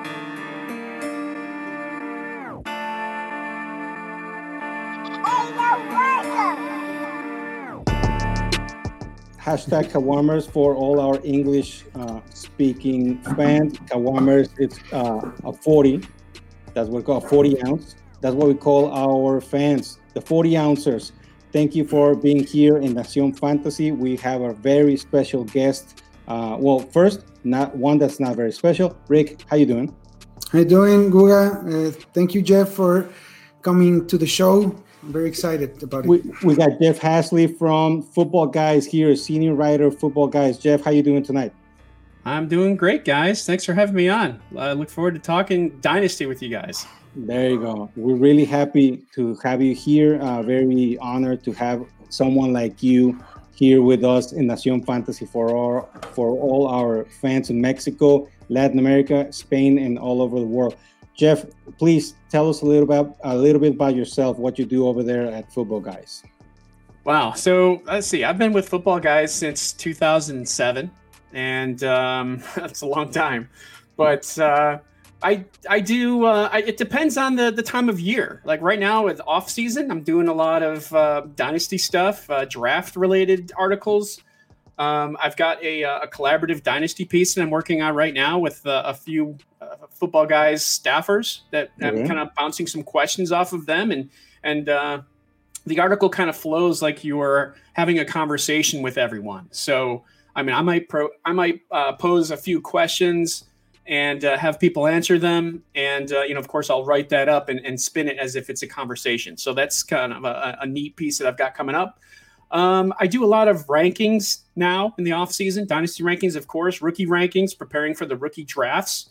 Hashtag Kawamers for all our English speaking fans. Kawamers, it's a 40. That's what we call a 40 ounce. That's what we call our fans, the 40 ouncers. Thank you for being here in Nación Fantasy. We have a very special guest. First, not one that's not very special. Rick, how you doing? How you doing, Guga? Thank you, Jeff, for coming to the show. I'm very excited about it. We got Jeff Hasley from Football Guys here, senior writer of Football Guys. Jeff, how you doing tonight? I'm doing great, guys. Thanks for having me on. I look forward to talking Dynasty with you guys. There you go. We're really happy to have you here. Very honored to have someone like you here with us in Nación Fantasy for all our fans in Mexico, Latin America, Spain, and all over the world. Jeff, please tell us a little bit about yourself, what you do over there at Football Guys. Wow. So let's see. I've been with Football Guys since 2007, and that's a long time. But I do. It depends on the time of year. Like right now, with off season, I'm doing a lot of Dynasty stuff, draft related articles. I've got a collaborative Dynasty piece that I'm working on right now with a few Football Guys staffers that I'm kind of bouncing some questions off of them, and the article kind of flows like you are having a conversation with everyone. So I mean, I might pose a few questions and have people answer them, and of course, I'll write that up and spin it as if it's a conversation. So that's kind of a neat piece that I've got coming up. I do a lot of rankings now in the off season, Dynasty rankings, of course, rookie rankings, preparing for the rookie drafts.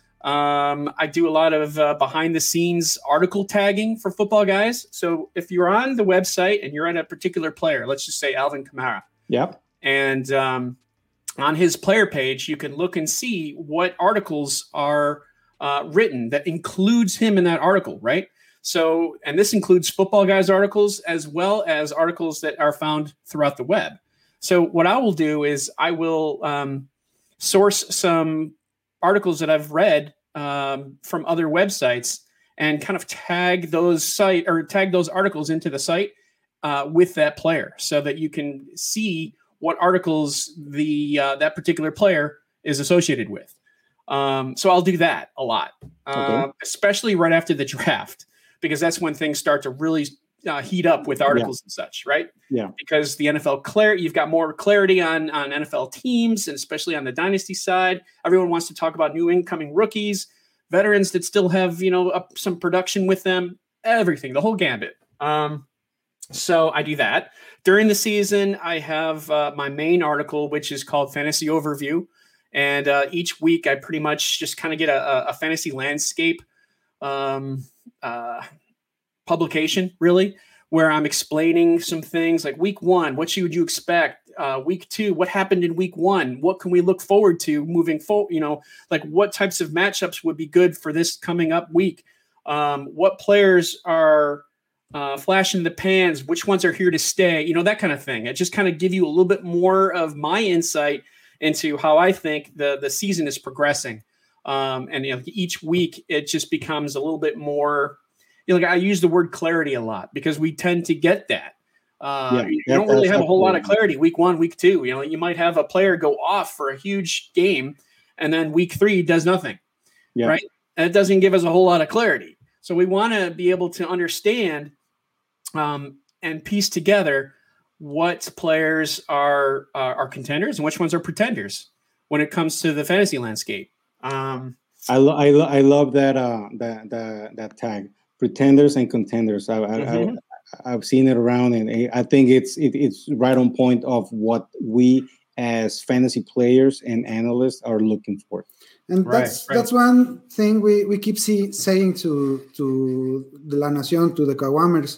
I do a lot of behind the scenes article tagging for Football Guys. So if you're on the website and you're on a particular player, let's just say Alvin Kamara. Yep. And on his player page, you can look and see what articles are written that includes him in that article, right? So, and this includes Football Guys articles as well as articles that are found throughout the web. So what I will do is I will source some articles that I've read from other websites and kind of tag those articles into the site with that player so that you can see what articles that particular player is associated with. So I'll do that a lot, especially right after the draft, because that's when things start to really heat up with articles and such, right? Yeah. Because the NFL you've got more clarity on NFL teams, and especially on the dynasty side. Everyone wants to talk about new incoming rookies, veterans that still have, some production with them, everything, the whole gambit. So I do that. During the season, I have my main article, which is called Fantasy Overview. And each week I pretty much just kind of get a fantasy landscape publication, really, where I'm explaining some things like week 1, what would you expect? Week 2, what happened in week 1? What can we look forward to moving forward? Like what types of matchups would be good for this coming up week? What players are flash in the pans? Which ones are here to stay? That kind of thing. It just kind of give you a little bit more of my insight into how I think the season is progressing. And each week it just becomes a little bit more, I use the word clarity a lot because we tend to get that. You don't really have a whole lot of clarity week 1, week 2. You might have a player go off for a huge game and then week 3 does nothing, right? And it doesn't give us a whole lot of clarity. So we want to be able to understand and piece together what players are contenders and which ones are pretenders when it comes to the fantasy landscape. I love that tag, pretenders and contenders. I've seen it around, and I think it's right on point of what we as fantasy players and analysts are looking for. And that's one thing we keep saying to the La Nación, to the Kawamers.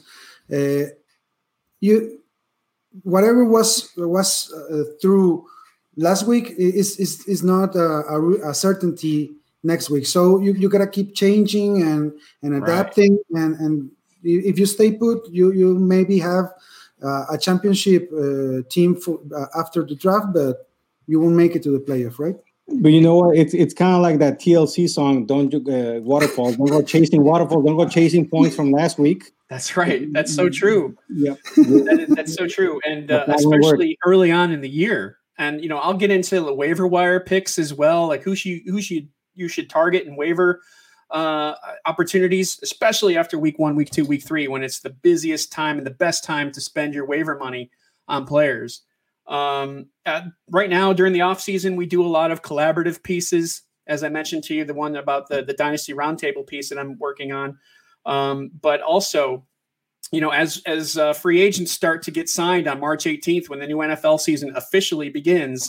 Whatever was through last week is not a certainty next week. So you gotta keep changing and adapting, and if you stay put, you maybe have a championship team for after the draft, but you won't make it to the playoff, right? But you know what? It's kind of like that TLC song. Don't waterfalls. Don't go chasing waterfalls. Don't go chasing points from last week. That's right. That's so true. Yep. That's so true. And especially early on in the year. And I'll get into the waiver wire picks as well, like who you should target and waiver opportunities, especially after week 1, week 2, week 3, when it's the busiest time and the best time to spend your waiver money on players. Right now during the off season, we do a lot of collaborative pieces. As I mentioned to you, the one about the Dynasty Roundtable piece that I'm working on. But also, as free agents start to get signed on March 18th, when the new NFL season officially begins,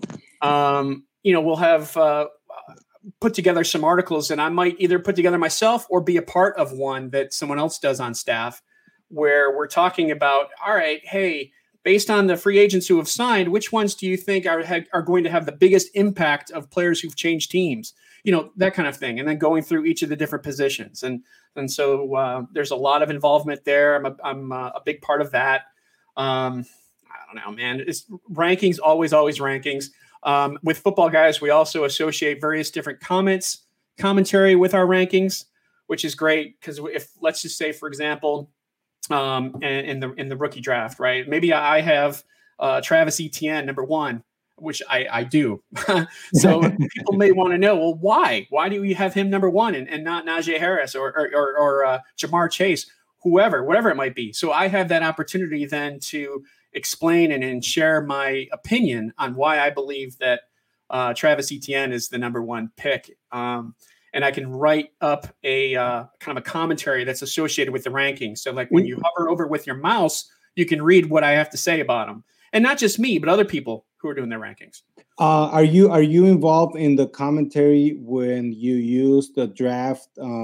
we'll have put together some articles, and I might either put together myself or be a part of one that someone else does on staff, where we're talking about, all right, hey, based on the free agents who have signed, which ones do you think are going to have the biggest impact of players who've changed teams? That kind of thing. And then going through each of the different positions. And so there's a lot of involvement there. I'm a big part of that. I don't know, man. It's rankings, always rankings. With Football Guys, we also associate various different commentary with our rankings, which is great. Because if, let's just say, for example, in the rookie draft, right? Maybe I have Travis Etienne number 1, which I do. So people may want to know, well, why? Why do we have him number 1 and not Najee Harris or Jamar Chase, whatever it might be? So I have that opportunity then to explain and share my opinion on why I believe that Travis Etienne is the number 1 pick. And I can write up a kind of a commentary that's associated with the rankings. So like when you hover over with your mouse, you can read what I have to say about them. And not just me, but other people who are doing their rankings. Are you involved in the commentary when you use the draft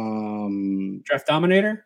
Dominator?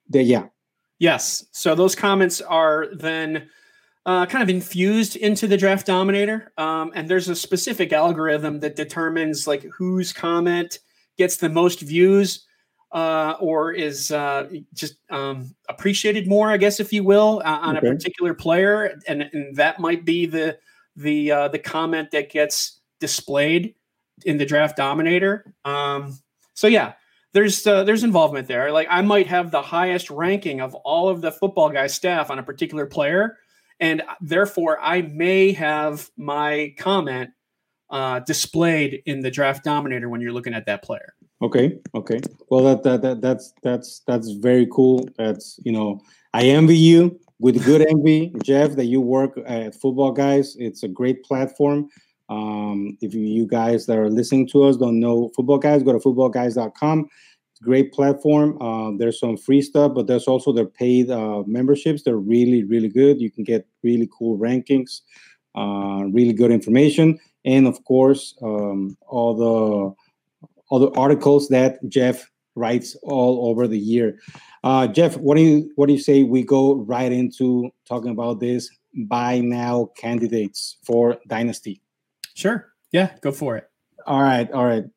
Yes. So those comments are then kind of infused into the Draft Dominator. And there's a specific algorithm that determines like whose comment gets the most views or is just appreciated more, I guess, if you will, on a particular player. And that might be the comment that gets displayed in the Draft Dominator. So yeah, there's involvement there. Like I might have the highest ranking of all of the Football Guys staff on a particular player, and therefore I may have my comment displayed in the Draft Dominator when you're looking at that player. Okay. Well, that's very cool. That's I envy you with good envy, Jeff, that you work at Football Guys. It's a great platform. If you guys that are listening to us don't know Football Guys, go to footballguys.com. It's a great platform. There's some free stuff, but there's also their paid memberships. They're really, really good. You can get really cool rankings, really good information, and of course, all the articles that Jeff writes all over the year. Jeff, what do you say we go right into talking about this buy now candidates for Dynasty? Sure. Yeah, go for it. All right.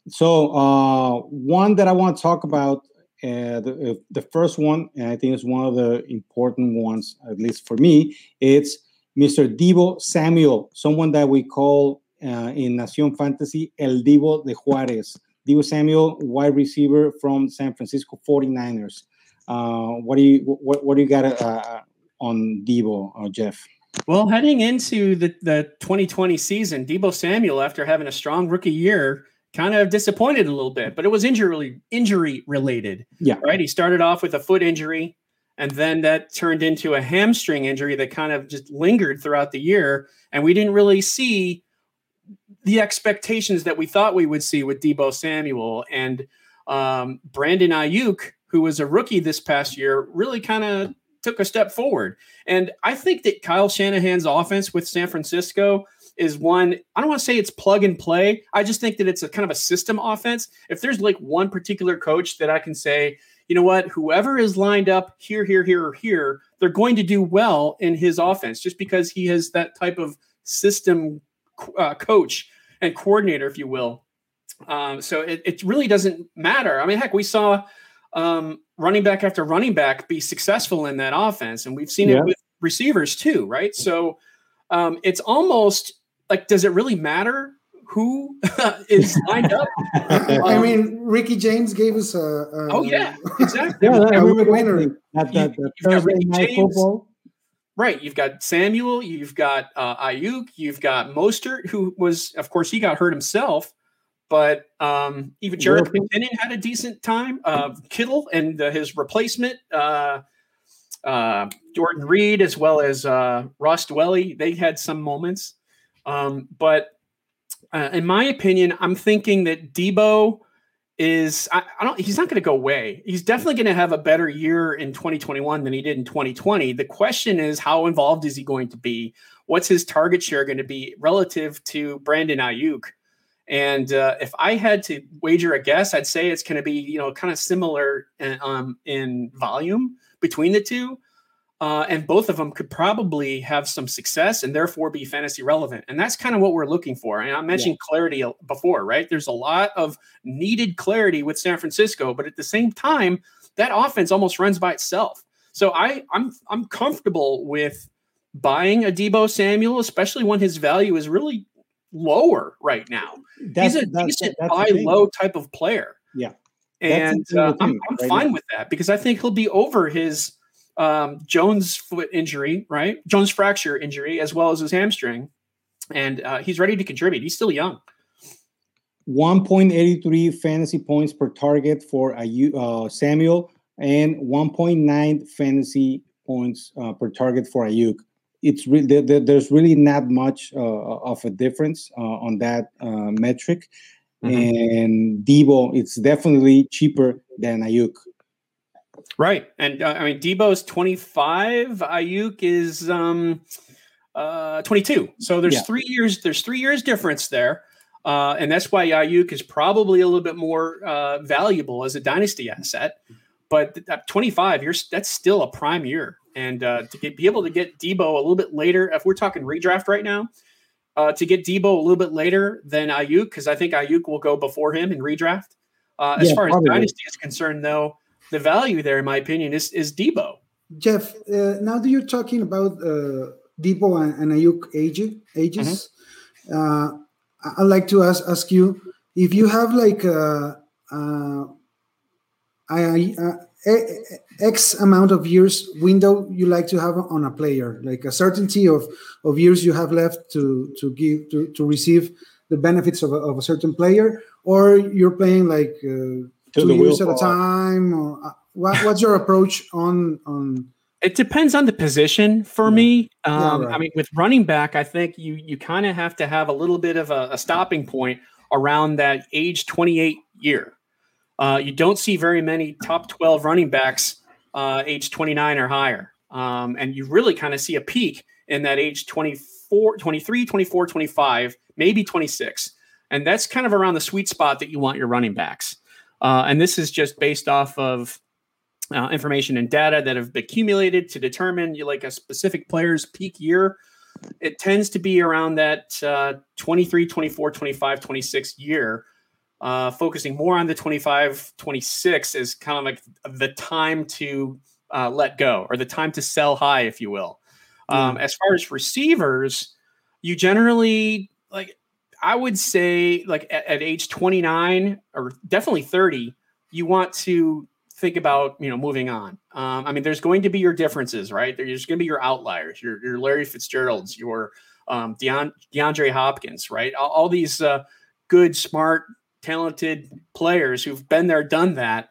So one that I want to talk about, the first one, and I think it's one of the important ones, at least for me, it's Mr. Deebo Samuel, someone that we call in Nación Fantasy El Deebo de Juárez. Deebo Samuel, wide receiver from San Francisco 49ers. What do you got on Deebo, Jeff? Well, heading into the 2020 season, Deebo Samuel, after having a strong rookie year, kind of disappointed a little bit, but it was injury related. Yeah. Right. He started off with a foot injury, and then that turned into a hamstring injury that kind of just lingered throughout the year. And we didn't really see the expectations that we thought we would see with Deebo Samuel. And Brandon Ayuk, who was a rookie this past year, really kind of took a step forward. And I think that Kyle Shanahan's offense with San Francisco is one, I don't want to say it's plug and play. I just think that it's a kind of a system offense. If there's like one particular coach that I can say, you know what, whoever is lined up here, or here, they're going to do well in his offense just because he has that type of system coach and coordinator, if you will. So it really doesn't matter. I mean, heck, we saw running back after running back be successful in that offense. And we've seen it with receivers too, right? So it's almost like, does it really matter who is lined up. I mean, Ricky James gave us oh yeah, exactly. Yeah, a winner. That Thursday night football. Right, you've got Samuel, you've got Ayuk, you've got Mostert, who was, of course, he got hurt himself, but even Jared McKinnon had a decent time. Kittle and his replacement, Jordan Reed, as well as Ross Dwelly, they had some moments. But in my opinion, I'm thinking that Debo is he's not going to go away. He's definitely going to have a better year in 2021 than he did in 2020. The question is, how involved is he going to be? What's his target share going to be relative to Brandon Ayuk? And if I had to wager a guess, I'd say it's going to be, kind of similar in volume between the two. And both of them could probably have some success and therefore be fantasy relevant. And that's kind of what we're looking for. And I mentioned clarity before, right? There's a lot of needed clarity with San Francisco, but at the same time, that offense almost runs by itself. So I'm comfortable with buying a Debo Samuel, especially when his value is really lower right now. He's a decent buy low type of player. Yeah. And I'm fine with that because I think he'll be over his Jones foot injury, right? Jones fracture injury, as well as his hamstring. And he's ready to contribute. He's still young. 1.83 fantasy points per target for Samuel and 1.9 fantasy points per target for Ayuk. It's there's really not much of a difference on that metric. Mm-hmm. And Debo, it's definitely cheaper than Ayuk. Right. And Debo's 25, Ayuk is 22. So there's 3 years, there's 3 years difference there. And that's why Ayuk is probably a little bit more valuable as a dynasty asset. But at 25, that's still a prime year. And be able to get Debo a little bit later, if we're talking redraft right now, to get Debo a little bit later than Ayuk, because I think Ayuk will go before him in redraft. As far as dynasty is concerned, though, the value there, in my opinion, is Debo. Jeff, now that you're talking about Debo and Ayuk ages, I'd like to ask you if you have like X amount of years window you like to have on a player, like a certainty of years you have left to receive the benefits of a certain player, or you're playing like 2 years at a time, or what's your approach on? It depends on the position for me. Right. I mean, with running back, I think you kind of have to have a little bit of a stopping point around that age 28 year. You don't see very many top 12 running backs age 29 or higher. And you really kind of see a peak in that age 24, 23, 24, 25, maybe 26. And that's kind of around the sweet spot that you want your running backs. And this is just based off of information and data that have been accumulated to determine like a specific player's peak year. It tends to be around that 23, 24, 25, 26 year, focusing more on the 25, 26 is kind of like the time to let go, or the time to sell high, if you will. As far as receivers, you generally, like, I would say like at age 29 or definitely 30, you want to think about, moving on. I mean, there's going to be your differences, right? There's going to be your outliers, your Larry Fitzgeralds, your DeAndre Hopkins, right? All these good, smart, talented players who've been there, done that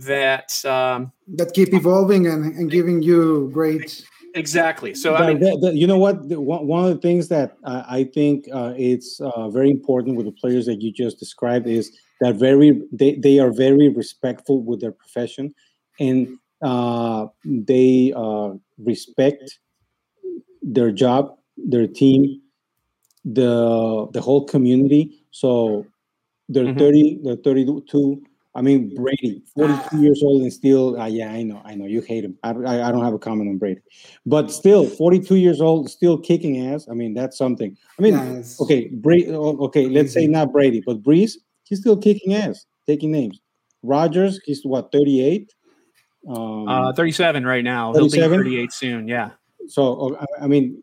keep evolving and giving you great. Exactly. So you know what? One of the things that I think it's very important with the players that you just described is that they are very respectful with their profession, and they respect their job, their team, the whole community. So they're 30, they're 32. I mean, Brady, 42 years old and still, I know, you hate him. I don't have a comment on Brady. But still, 42 years old, still kicking ass. I mean, that's something. I mean, yes. Okay, let's say not Brady, but Breeze, he's still kicking ass, taking names. Rodgers, he's what, 38? 37 right now. 37? He'll be 38 soon, yeah. So, I mean,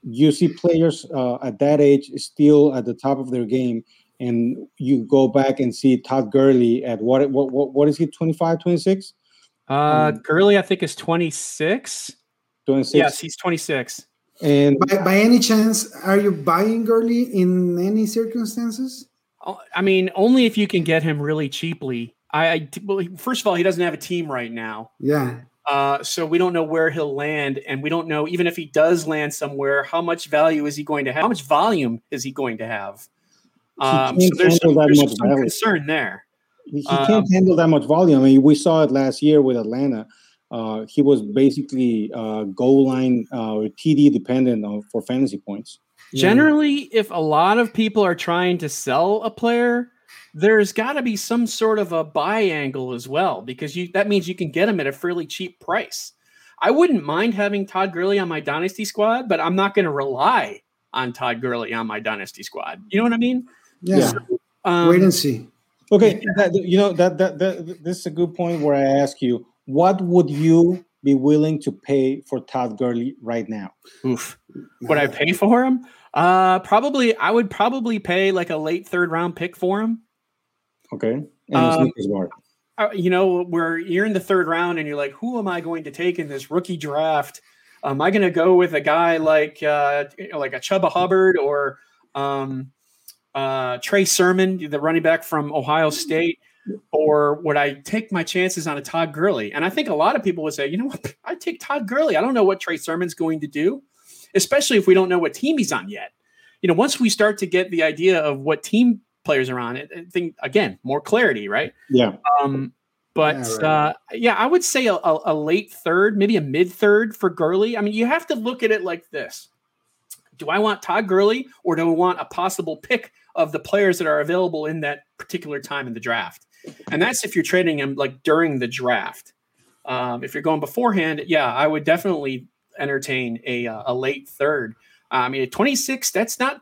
you see players at that age still at the top of their game, and you go back and see Todd Gurley at what is he, 25, 26? Gurley, I think, is 26. 26. Yes, he's 26. And by any chance, are you buying Gurley in any circumstances? I mean, only if you can get him really cheaply. Well, first of all, he doesn't have a team right now. Yeah. So we don't know where he'll land, and we don't know, even if he does land somewhere, how much value is he going to have? How much volume is he going to have? So there's some concern there. He can't handle that much volume. I mean, we saw it last year with Atlanta. He was basically goal line TD dependent for fantasy points. Generally, if a lot of people are trying to sell a player, there's got to be some sort of a buy angle as well, because that means you can get him at a fairly cheap price. I wouldn't mind having Todd Gurley on my dynasty squad, but I'm not going to rely on Todd Gurley on my dynasty squad. You know what I mean? Yeah. So, wait and see. Okay, this is a good point where I ask you, what would you be willing to pay for Todd Gurley right now? Oof. Would I pay for him? I would probably pay like a late 3rd round pick for him. Okay. Where you're in the 3rd round and you're like, who am I going to take in this rookie draft? Am I going to go with a guy like a Chuba Hubbard or Trey Sermon, the running back from Ohio State? Or would I take my chances on a Todd Gurley? And I think a lot of people would say, you know what, I'd take Todd Gurley. I don't know what Trey Sermon's going to do, especially if we don't know what team he's on yet. Once we start to get the idea of what team players are on, I think, again, more clarity, right? Yeah. I would say a late 3rd, maybe a mid 3rd for Gurley. I mean, you have to look at it like this. Do I want Todd Gurley, or do I want a possible pick of the players that are available in that particular time in the draft? And that's if you're trading him like during the draft. If you're going beforehand, I would definitely entertain a late 3rd. I mean, at 26, that's not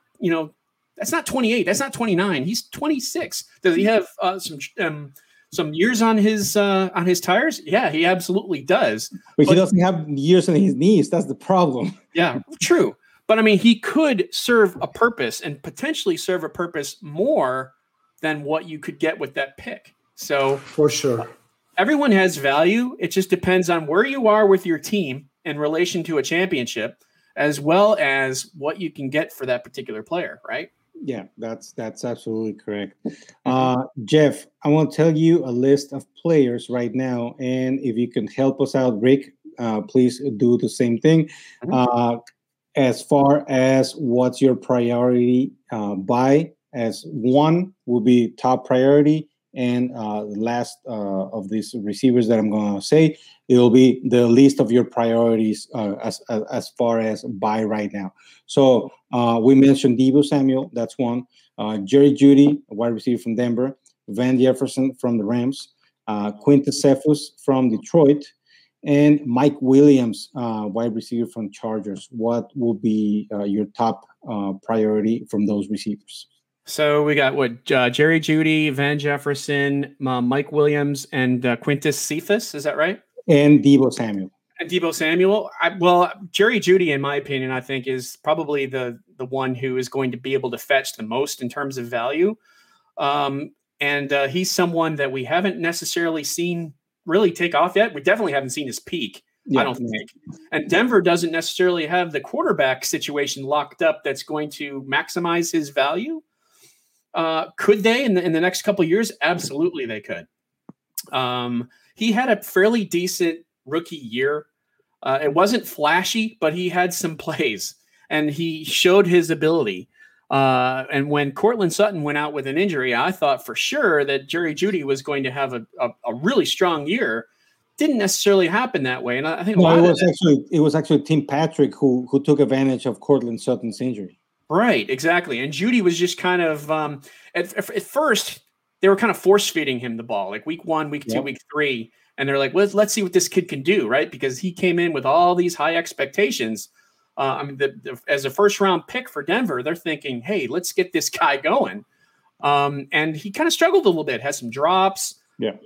28, that's not 29. He's 26. Does he have some years on his tires? Yeah, he absolutely does. But he doesn't have years on his knees. That's the problem. Yeah, true. But I mean, he could serve a purpose and potentially serve a purpose more than what you could get with that pick. So for sure, everyone has value. It just depends on where you are with your team in relation to a championship, as well as what you can get for that particular player, right? Yeah, that's absolutely correct. Jeff, I want to tell you a list of players right now, and if you can help us out, Rick, please do the same thing. As far as what's your priority buy, as one will be top priority, and last of these receivers that I'm going to say, it will be the least of your priorities as far as buy right now. So we mentioned Deebo Samuel, that's one. Jerry Jeudy, a wide receiver from Denver. Van Jefferson from the Rams. Quintus Cephus from Detroit. And Mike Williams, wide receiver from Chargers. What will be your top priority from those receivers? So we got Jerry Jeudy, Van Jefferson, Mike Williams, and Quintus Cephus. Is that right? And Deebo Samuel. And Deebo Samuel. Jerry Jeudy, in my opinion, I think is probably the one who is going to be able to fetch the most in terms of value. And he's someone that we haven't necessarily seen really take off yet. We definitely haven't seen his peak. I don't think. And Denver doesn't necessarily have the quarterback situation locked up that's going to maximize his value. Could they in the next couple of years? Absolutely, they could. He had a fairly decent rookie year. It wasn't flashy, but he had some plays, and he showed his ability. And when Courtland Sutton went out with an injury, I thought for sure that Jerry Jeudy was going to have a really strong year. Didn't necessarily happen that way, and I think it was actually Tim Patrick who took advantage of Courtland Sutton's injury. Right, exactly. And Jeudy was just kind of at first they were kind of force feeding him the ball, like week 1, week 2, week 3, and they're like, let's see what this kid can do, right? Because he came in with all these high expectations. As a first round pick for Denver, they're thinking, hey, let's get this guy going. And he kind of struggled a little bit, had some drops. Yeah.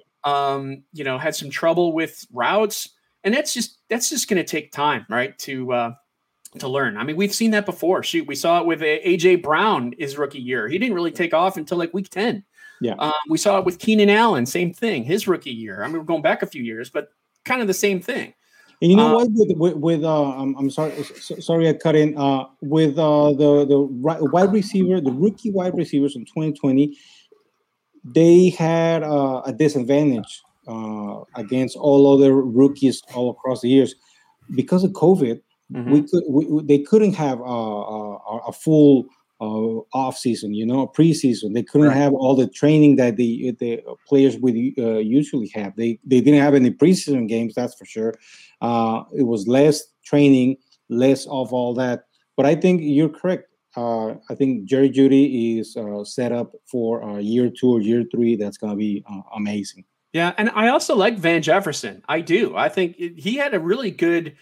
Had some trouble with routes, and that's just going to take time, right? To to learn. I mean, we've seen that before. Shoot, we saw it with AJ Brown his rookie year. He didn't really take off until like week 10. Yeah. We saw it with Keenan Allen, same thing, his rookie year. I mean, we're going back a few years, but kind of the same thing. And you know what? I'm sorry I cut in. With the wide receiver, the rookie wide receivers in 2020, they had a disadvantage against all other rookies all across the years because of COVID. They couldn't have a full off season, a preseason. They couldn't have all the training that the players would usually have. They didn't have any preseason games, that's for sure. It was less training, less of all that. But I think you're correct. I think Jerry Jeudy is set up for year 2 or year 3. That's going to be amazing. Yeah, and I also like Van Jefferson. I do. I think he had a really good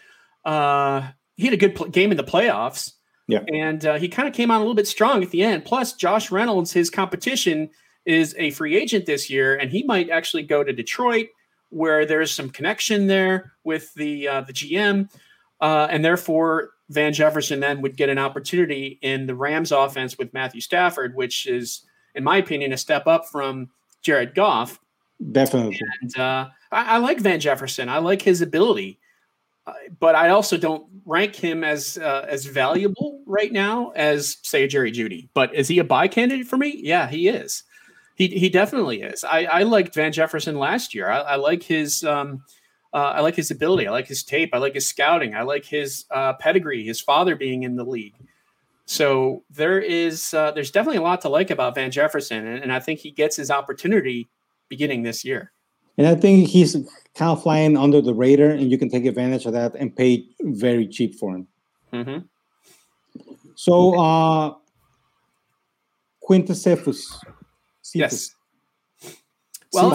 game in the playoffs. Yeah, and he kind of came on a little bit strong at the end. Plus, Josh Reynolds, his competition, is a free agent this year, and he might actually go to Detroit, where there's some connection there with the GM, and therefore Van Jefferson then would get an opportunity in the Rams offense with Matthew Stafford, which is, in my opinion, a step up from Jared Goff. Definitely. And I like Van Jefferson. I like his ability. But I also don't rank him as valuable right now as, say, Jerry Jeudy. But is he a buy candidate for me? Yeah, he is. He definitely is. I liked Van Jefferson last year. I like his ability. I like his tape. I like his scouting. I like his pedigree. His father being in the league. So there's definitely a lot to like about Van Jefferson, and I think he gets his opportunity beginning this year. And I think he's kind of flying under the radar, and you can take advantage of that and pay very cheap for him. Mm-hmm. So, Quintez Cephus. Yes. Well,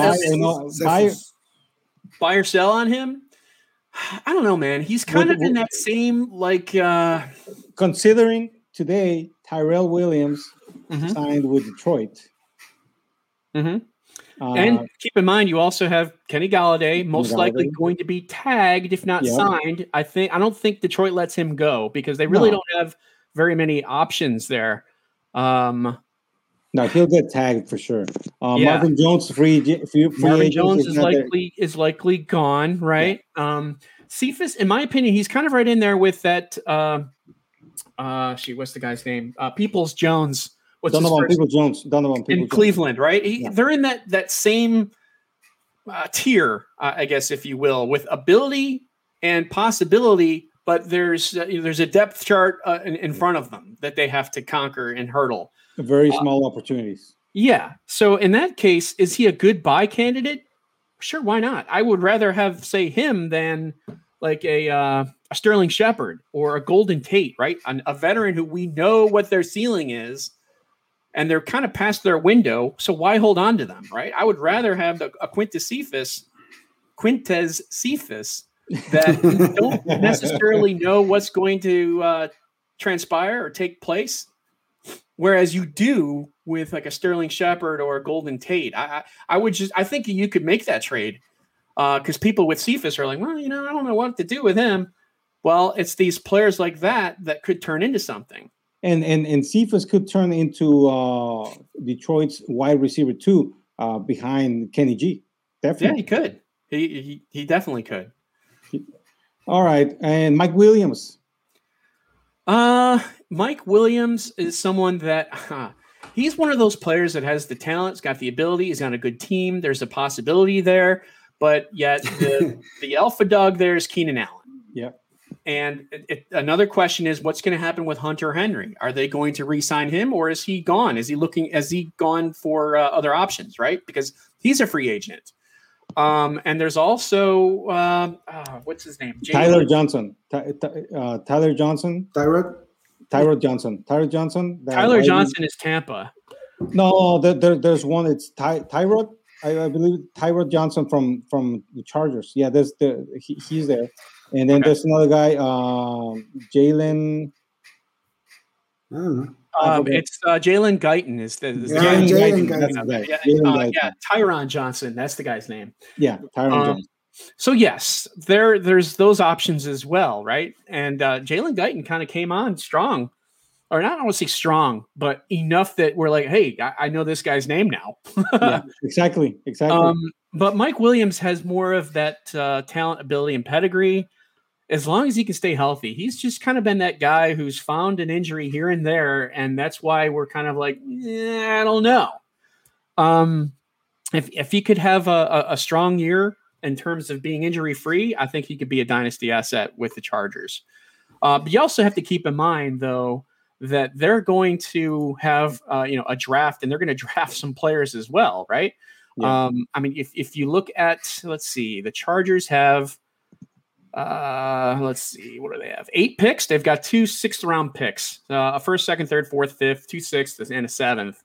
buy or sell on him? I don't know, man. He's kind of in that same, considering today Tyrell Williams signed with Detroit. Mm-hmm. And keep in mind, you also have Kenny Golladay, most likely going to be tagged, if not signed. I don't think Detroit lets him go because they really don't have very many options there. No, he'll get tagged for sure. Marvin Jones, Marvin Jones is likely gone, right? Yeah. Cephus, in my opinion, he's kind of right in there with that. What's the guy's name? Peoples Jones. Donovan Peoples-Jones in Cleveland, right? They're in that same tier, I guess, if you will, with ability and possibility, but there's a depth chart in front of them that they have to conquer and hurdle. Very small opportunities. Yeah. So in that case, is he a good buy candidate? Sure, why not? I would rather have, say, him than like a Sterling Shepard or a Golden Tate, right? A veteran who we know what their ceiling is. And they're kind of past their window, so why hold on to them, right? I would rather have a Quintez Cephus that you don't necessarily know what's going to transpire or take place, whereas you do with like a Sterling Shepard or a Golden Tate. I think you could make that trade because people with Cephus are like, well, I don't know what to do with him. Well, it's these players like that could turn into something. And Cephus could turn into Detroit's wide receiver too, behind Kenny G. Definitely. Yeah, he could. He definitely could. All right, and Mike Williams. Mike Williams is someone that he's one of those players that has the talent, has got the ability, he's on a good team. There's a possibility there, but yet the alpha dog there is Keenan Allen. Yeah. And another question is, what's going to happen with Hunter Henry? Are they going to re-sign him, or is he gone? Has he gone for other options, right? Because he's a free agent. And there's also what's his name? Tyler Johnson. Tyler Johnson. Tyrod Johnson. Tyler Johnson. Tyler Johnson is Tampa. No, there's one. It's Tyrod. I believe Tyrod Johnson from the Chargers. Yeah, he's there. And then there's another guy, Jalen. I don't know. It's Jalen Guyton is the Jalen Guyton. Yeah, Tyron Johnson. That's the guy's name. Yeah, Tyron Johnson. So yes, there's those options as well, right? And Jalen Guyton kind of came on strong, or not, I don't want to say strong, but enough that we're like, hey, I know this guy's name now. Yeah, exactly. But Mike Williams has more of that talent, ability, and pedigree. As long as he can stay healthy, he's just kind of been that guy who's found an injury here and there, and that's why we're kind of like, I don't know. If he could have a strong year in terms of being injury free, I think he could be a dynasty asset with the Chargers. But you also have to keep in mind, though, that they're going to have a draft, and they're going to draft some players as well, right? Yeah. I mean, if you look at, let's see, the Chargers have, let's see, what do they have? 8 picks. They've got 2 6th-round picks, a 1st, 2nd, 3rd, 4th, 5th, 2 6th, and a 7th.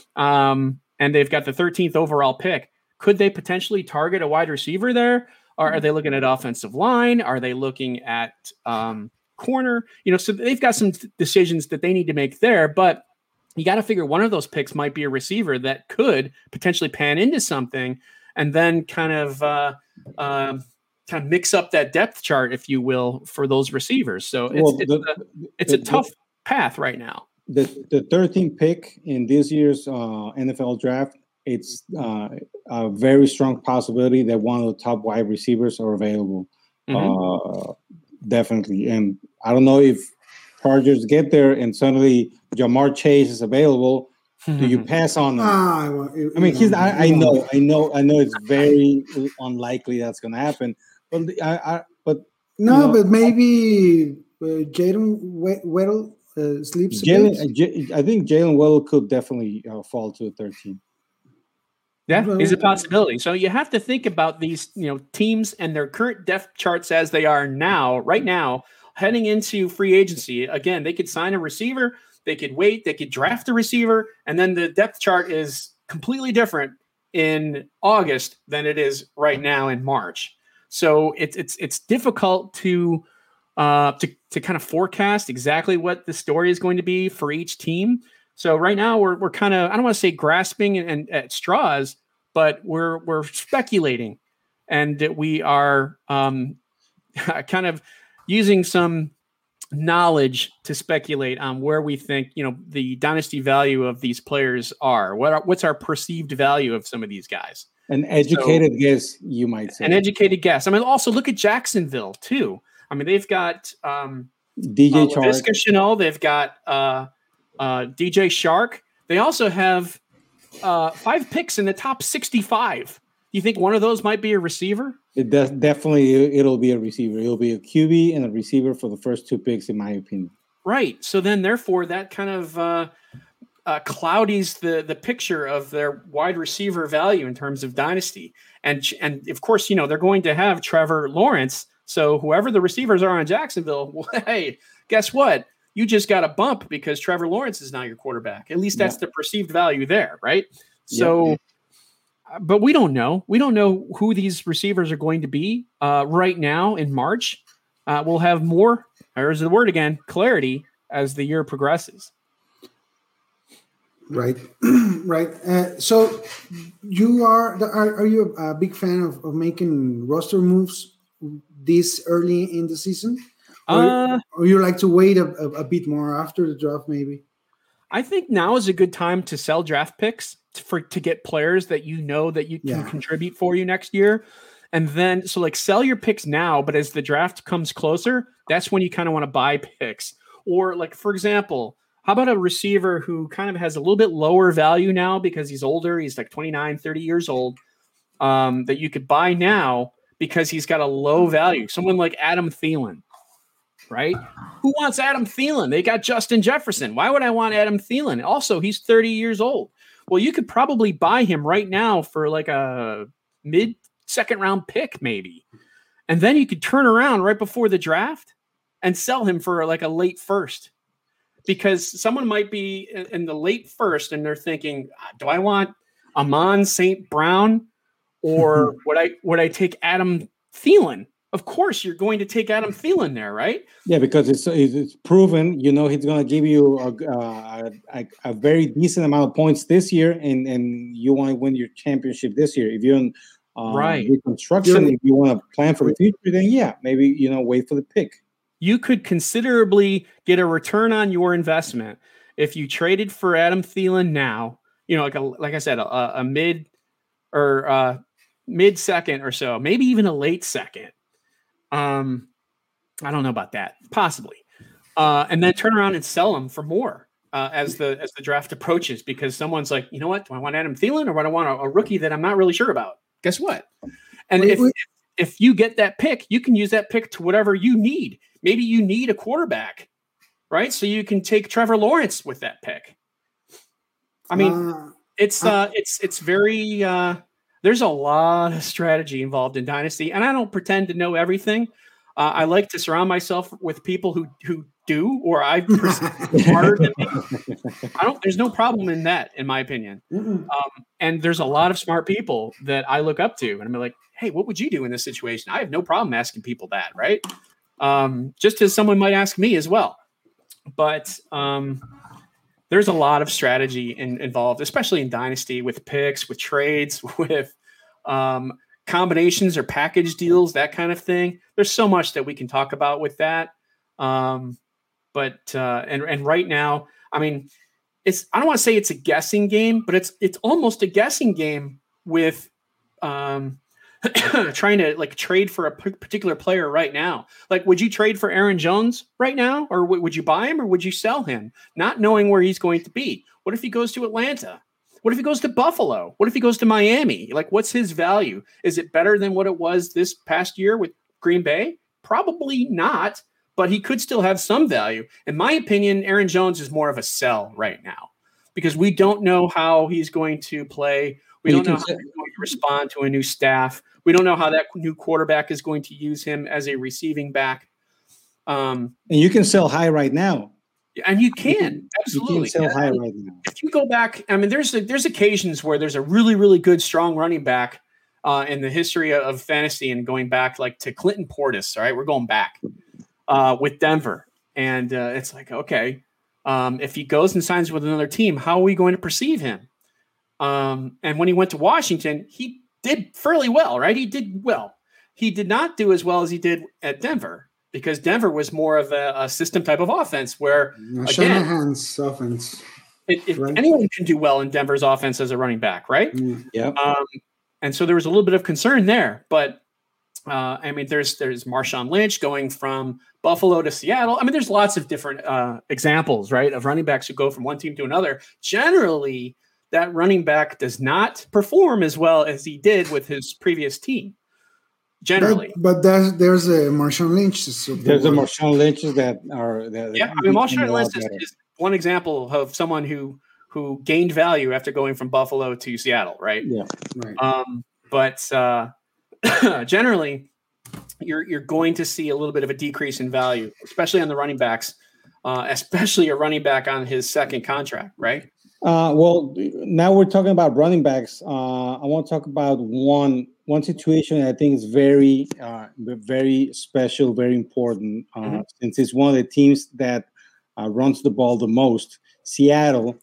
And they've got the 13th overall pick. Could they potentially target a wide receiver there? Or are they looking at offensive line? Are they looking at corner? So they've got some decisions that they need to make there, but you got to figure one of those picks might be a receiver that could potentially pan into something, and then kind of mix up that depth chart, if you will, for those receivers. So it's a tough path right now. The 13th pick in this year's NFL draft, it's a very strong possibility that one of the top wide receivers are available. Mm-hmm. Definitely. And I don't know if Chargers get there and suddenly Jamar Chase is available. Mm-hmm. Do you pass on him? I mean, I know it's very unlikely that's going to happen. But maybe Jalen Weddle sleeps. I think Jalen Weddle could definitely fall to 13. Yeah, is a possibility. So you have to think about these, teams and their current depth charts as they are now, right now, heading into free agency. Again, they could sign a receiver, they could wait, they could draft a receiver, and then the depth chart is completely different in August than it is right now in March. So it's difficult to kind of forecast exactly what the story is going to be for each team. So right now we're kind of, I don't want to say grasping and at straws, but we're speculating, and that we are kind of using some knowledge to speculate on where we think the dynasty value of these players are. What's our perceived value of some of these guys? An educated guess, you might say. An educated guess. I mean, also look at Jacksonville too. I mean, they've got DJ Laviska Shenault. They've got DJ Shark. They also have 5 picks in the top 65. Do you think one of those might be a receiver? It'll be a receiver. It'll be a QB and a receiver for the first 2 picks, in my opinion. Right. So then, therefore, that kind of cloudies the picture of their wide receiver value in terms of dynasty. And of course, they're going to have Trevor Lawrence. So whoever the receivers are in Jacksonville, well, hey, guess what? You just got a bump because Trevor Lawrence is now your quarterback. At least that's the perceived value there, right? So, but we don't know. We don't know who these receivers are going to be right now in March. We'll have more, there's the word again, clarity as the year progresses. Right, right. So you are you a big fan of making roster moves this early in the season? Or you like to wait a bit more after the draft, maybe? I think now is a good time to sell draft picks to get players that that you can contribute for you next year. And then, so sell your picks now, but as the draft comes closer, that's when you kind of want to buy picks. Or for example, how about a receiver who kind of has a little bit lower value now because he's older, he's 29, 30 years old, that you could buy now because he's got a low value. Someone like Adam Thielen. Right? Who wants Adam Thielen? They got Justin Jefferson. Why would I want Adam Thielen? Also, he's 30 years old. Well, you could probably buy him right now for a mid-second round pick, maybe. And then you could turn around right before the draft and sell him for a late first. Because someone might be in the late first and they're thinking, do I want Amon St. Brown or would I take Adam Thielen? Of course, you're going to take Adam Thielen there, right? Yeah, because it's proven. He's going to give you a very decent amount of points this year, and you want to win your championship this year. If you're Right. reconstruction. If you want to plan for the future, then maybe wait for the pick. You could considerably get a return on your investment if you traded for Adam Thielen now. Like I said, a mid or mid second or so, maybe even a late second. I don't know about that, possibly, and then turn around and sell them for more as the draft approaches, because someone's like, you know what, do I want Adam Thielen or do I want a rookie that I'm not really sure about? Guess what? And if you get that pick, you can use that pick to whatever you need. Maybe you need a quarterback, right? So you can take Trevor Lawrence with that pick. I mean, it's very. There's a lot of strategy involved in Dynasty, and I don't pretend to know everything. I like to surround myself with people who do, or I perceive smarter than me. There's no problem in that, in my opinion. And there's a lot of smart people that I look up to, and I'm like, hey, what would you do in this situation? I have no problem asking people that, right? Just as someone might ask me as well. But there's a lot of strategy involved, especially in Dynasty, with picks, with trades, with combinations or package deals, that kind of thing. There's so much that we can talk about with that. But right now, I mean, I don't want to say it's a guessing game, but it's almost a guessing game with trying to trade for a particular player right now. Like, would you trade for Aaron Jones right now, or would you buy him, or would you sell him, not knowing where he's going to be? What if he goes to Atlanta? What if he goes to Buffalo? What if he goes to Miami? What's his value? Is it better than what it was this past year with Green Bay? Probably not, but he could still have some value. In my opinion, Aaron Jones is more of a sell right now, because we don't know how he's going to play. We don't know how he's going to respond to a new staff. We don't know how that new quarterback is going to use him as a receiving back. And you can sell high right now. And you can. Absolutely. You can sell high right now. If you go back, I mean, there's occasions where there's a really, really good, strong running back in the history of fantasy, and going back to Clinton Portis. All right, we're going back with Denver. And it's like, okay, if he goes and signs with another team, how are we going to perceive him? And when he went to Washington, he did fairly well, right? He did well. He did not do as well as he did at Denver, because Denver was more of a system type of offense where, Shanahan's offense. Right? Anyone can do well in Denver's offense as a running back, right? Yeah. And so there was a little bit of concern there, but I mean, there's Marshawn Lynch going from Buffalo to Seattle. I mean, there's lots of different examples, right, of running backs who go from one team to another. Generally, that running back does not perform as well as he did with his previous team. Generally, but there's a Marshawn Lynch. There's a Marshawn Lynch that are. I mean, Marshawn Lynch is one example of someone who gained value after going from Buffalo to Seattle, right? Yeah, right. But generally, you're going to see a little bit of a decrease in value, especially on the running backs, especially a running back on his second contract, right? Well, now we're talking about running backs. I want to talk about one situation that I think is very, very special, very important, since it's one of the teams that runs the ball the most. Seattle,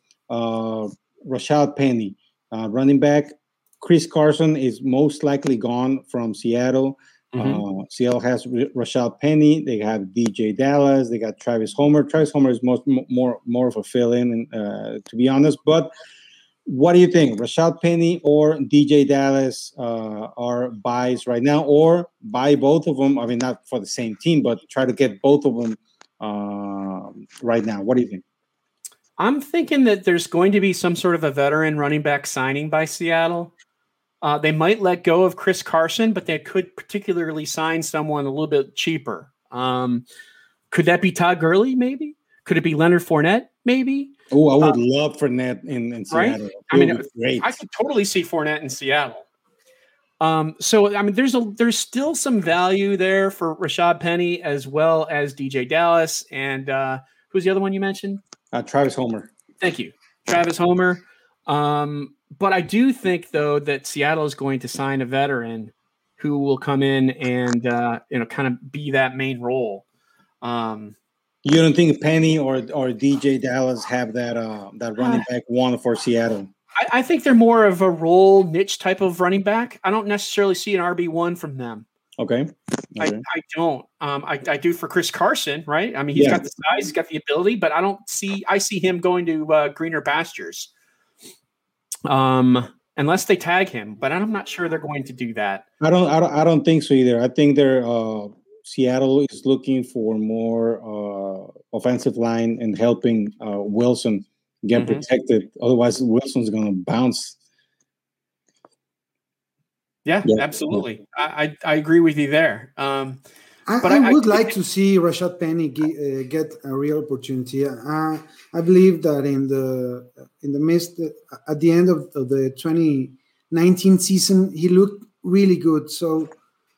Rashad Penny, running back. Chris Carson is most likely gone from Seattle. Seattle has Rashad Penny. They have DJ Dallas. They got Travis Homer. Travis Homer is more of a fill-in, to be honest. But what do you think? Rashad Penny or DJ Dallas are buys right now, or buy both of them? I mean, not for the same team, but try to get both of them right now. What do you think? I'm thinking that there's going to be some sort of a veteran running back signing by Seattle. They might let go of Chris Carson, but they could particularly sign someone a little bit cheaper. Could that be Todd Gurley, maybe? Could it be Leonard Fournette, maybe? Oh, I would love Fournette in Seattle. Right? I mean, I could totally see Fournette in Seattle. So, I mean, there's still some value there for Rashad Penny as well as DJ Dallas. And who's the other one you mentioned? Travis Homer. Thank you. Travis Homer. But I do think, though, that Seattle is going to sign a veteran who will come in and kind of be that main role. You don't think Penny or DJ Dallas have that running back one for Seattle? I think they're more of a role niche type of running back. I don't necessarily see an RB1 from them. Okay. I don't. I do for Chris Carson, right? I mean, he's got the size, he's got the ability, but I see him going to greener pastures. Unless they tag him, but I'm not sure they're going to do that. I don't think so either. I think they're Seattle is looking for more offensive line and helping Wilson get protected. Otherwise, Wilson's going to bounce. Yeah, absolutely. Yeah. I agree with you there. I would like to see Rashad Penny get a real opportunity. I believe that in the midst at the end of the 2019 season, he looked really good. So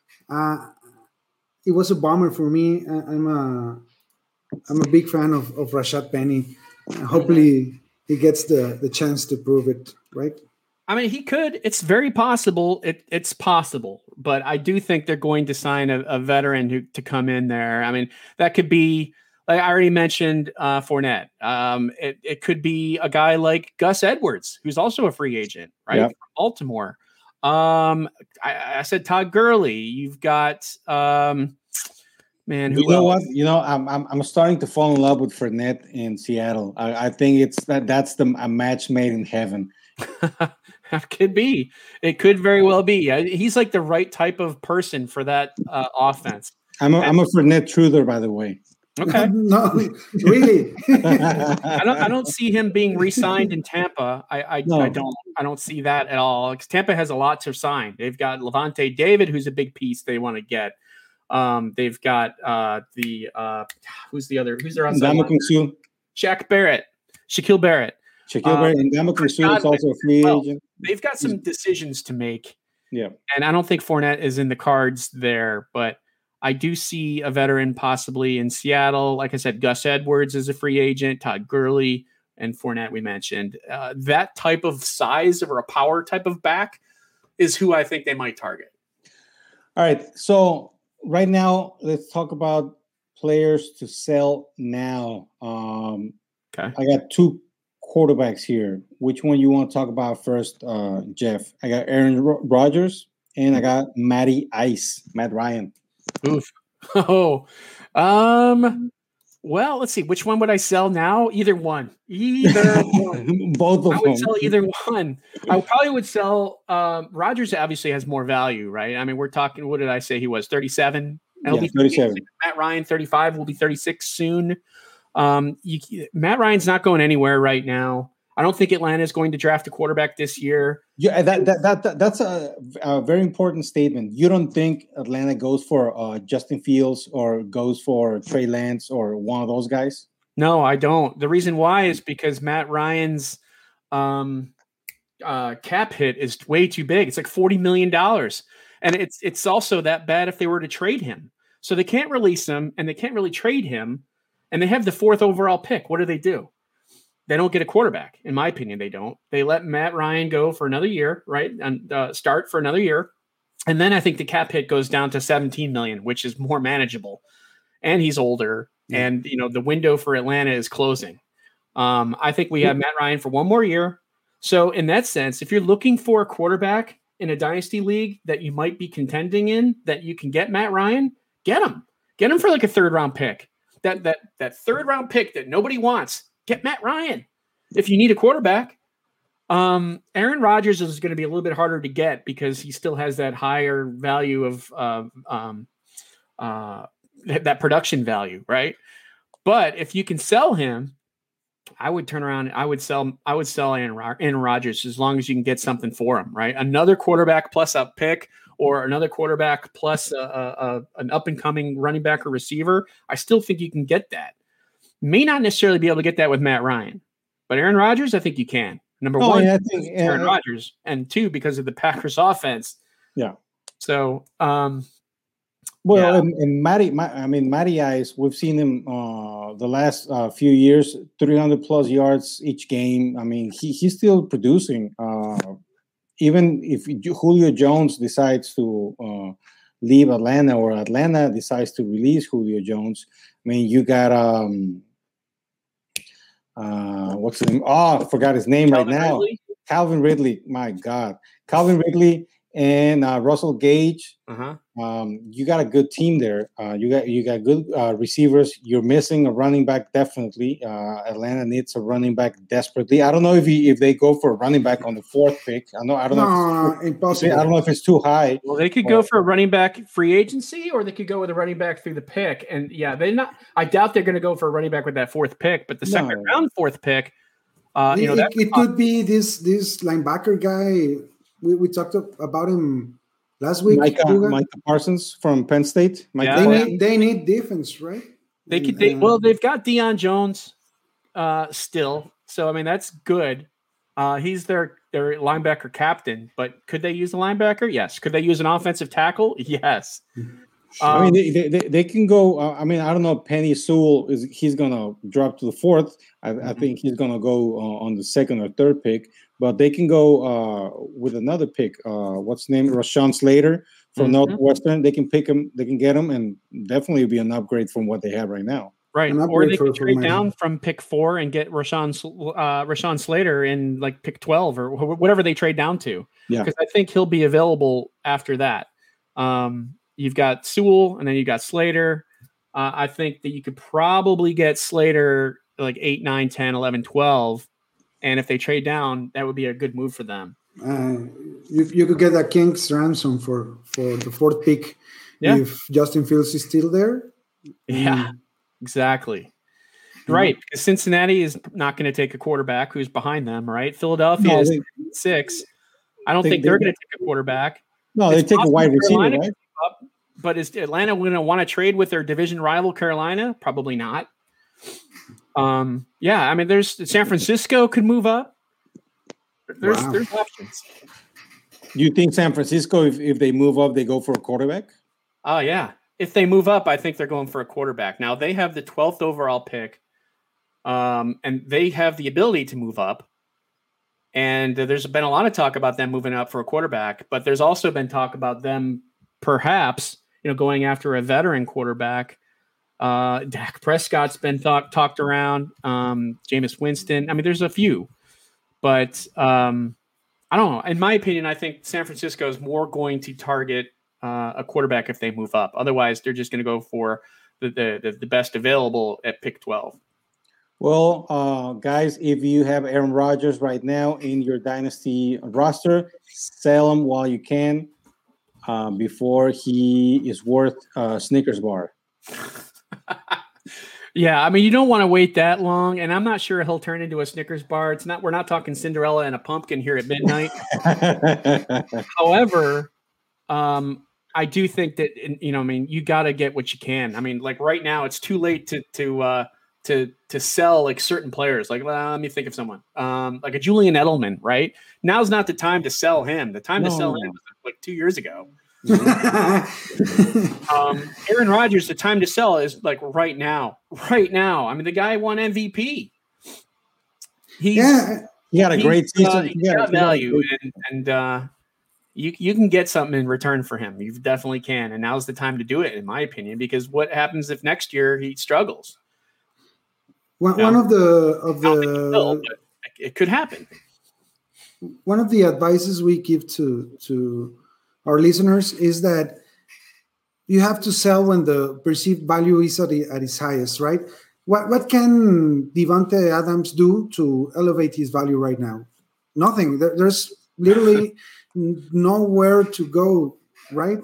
it was a bummer for me. I'm a big fan of Rashad Penny. Hopefully, he gets the chance to prove it. Right. I mean, he could. It's very possible. It's possible, but I do think they're going to sign a veteran to come in there. I mean, that could be, like I already mentioned, Fournette. It could be a guy like Gus Edwards, who's also a free agent, right? From Baltimore. I said Todd Gurley. You've got man. Who what? I'm starting to fall in love with Fournette in Seattle. I think that's a match made in heaven. Could be. It could very well be. He's like the right type of person for that offense. I'm a Fournette truther, by the way. Okay. No, really. I don't see him being re-signed in Tampa. I don't see that at all. Tampa has a lot to sign. They've got Levante David, who's a big piece they want to get. They've got who's their outside? Shaquille Barrett. Shaquille Barrett and Ndamukong Suh is also a free agent. They've got some decisions to make. Yeah. And I don't think Fournette is in the cards there, but I do see a veteran possibly in Seattle. Like I said, Gus Edwards is a free agent, Todd Gurley, and Fournette we mentioned. That type of size or a power type of back is who I think they might target. All right. So right now, let's talk about players to sell now. Okay. I got two quarterbacks here. Which one you want to talk about first, Jeff? I got Aaron Rodgers and I got Matt Ryan. Oof. Oh. Well, let's see. Which one would I sell now? Either one. Both of them. I would sell either one. I probably would sell Rodgers obviously has more value, right? I mean, we're talking, what did I say he was? 37? Yeah, 37. Matt Ryan, 35, will be 36 soon. Matt Ryan's not going anywhere right now. I don't think Atlanta is going to draft a quarterback this year. Yeah, that's a very important statement. You don't think Atlanta goes for Justin Fields or goes for Trey Lance or one of those guys? No, I don't. The reason why is because Matt Ryan's cap hit is way too big. It's like $40 million. And it's also that bad if they were to trade him. So they can't release him and they can't really trade him. And they have the 4th overall pick. What do? They don't get a quarterback. In my opinion, they don't. They let Matt Ryan go for another year, right? And start for another year. And then I think the cap hit goes down to $17 million, which is more manageable. And he's older. Yeah. And, the window for Atlanta is closing. I think we have Matt Ryan for one more year. So in that sense, if you're looking for a quarterback in a dynasty league that you might be contending in, that you can get Matt Ryan, get him. Get him for like a 3rd round pick. That 3rd round pick that nobody wants. Get Matt Ryan. If you need a quarterback, Aaron Rodgers is going to be a little bit harder to get because he still has that higher value of that production value, right? But if you can sell him, I would turn around. I would sell Aaron Rodgers as long as you can get something for him, right? Another quarterback plus a pick, or another quarterback plus an up and coming running back or receiver. I still think you can get that. May not necessarily be able to get that with Matt Ryan, but Aaron Rodgers, I think you can. Number one, I think Aaron Rodgers, and 2, because of the Packers offense. Yeah. So, and Matty Ice, we've seen him the last few years, 300 plus yards each game. I mean, he's still producing. Even if Julio Jones decides to leave Atlanta, or Atlanta decides to release Julio Jones, I mean, you got what's his name? Oh, I forgot his name right now. Calvin Ridley. My God, Calvin Ridley and Russell Gage. You got a good team there. You got good receivers. You're missing a running back definitely. Atlanta needs a running back desperately. I don't know if they go for a running back on the 4th pick. I don't know. Impossible. I don't know if it's too high. Well, they could go for a running back free agency, or they could go with a running back through the pick. And yeah, I doubt they're going to go for a running back with that 4th pick. But the second round 4th pick, it could be this linebacker guy. We talked about him last week. Micah Parsons from Penn State. They need defense, right? They've got Deion Jones still, so I mean that's good. He's their linebacker captain, but could they use a linebacker? Yes. Could they use an offensive tackle? Yes. I mean, they can go. I mean, I don't know. Penny Sewell he's gonna drop to the 4th. I think he's gonna go on the 2nd or 3rd pick. But they can go with another pick. What's his name? Rashawn Slater from Northwestern. They can pick him. They can get him, and definitely be an upgrade from what they have right now. Right, or they could trade down from pick 4 and get Rashawn Slater in like pick 12 or whatever they trade down to. Yeah, because I think he'll be available after that. You've got Sewell, and then you got Slater. I think that you could probably get Slater like 8, 9, 10, 11, 12. And if they trade down, that would be a good move for them. You could get a king's ransom for the 4th pick if Justin Fields is still there. Yeah, exactly. Right, because Cincinnati is not going to take a quarterback who's behind them, right? Philadelphia is 6. I don't think they're going to take a quarterback. No, they take a wide receiver, right? But is Atlanta going to want to trade with their division rival Carolina? Probably not. I mean, there's San Francisco could move up. There's options. You think San Francisco, if they move up, they go for a quarterback? Oh yeah. If they move up, I think they're going for a quarterback. Now they have the 12th overall pick, and they have the ability to move up. And there's been a lot of talk about them moving up for a quarterback, but there's also been talk about them perhaps, going after a veteran quarterback. Dak Prescott's been talked around. Jameis Winston. I mean, there's a few, but I don't know. In my opinion, I think San Francisco is more going to target a quarterback if they move up. Otherwise, they're just going to go for the best available at pick 12. Well, guys, if you have Aaron Rodgers right now in your dynasty roster, sell him while you can before he is worth a Snickers bar. Yeah, I mean, you don't want to wait that long, and I'm not sure he'll turn into a Snickers bar. We're not talking Cinderella and a pumpkin here at midnight. However, I do think that you got to get what you can. I mean, like right now, it's too late to sell like certain players. Like, let me think of someone like a Julian Edelman. Right now's not the time to sell him. The time to sell him was like 2 years ago. Aaron Rodgers, the time to sell is like right now. I mean, the guy won MVP. He had a great season. He got value, and you can get something in return for him. You definitely can, and now's the time to do it, in my opinion. Because what happens if next year he struggles? One of the it could happen. One of the advices we give to our listeners is that you have to sell when the perceived value is at its highest, right? What can Davante Adams do to elevate his value right now? Nothing. There's literally nowhere to go, right?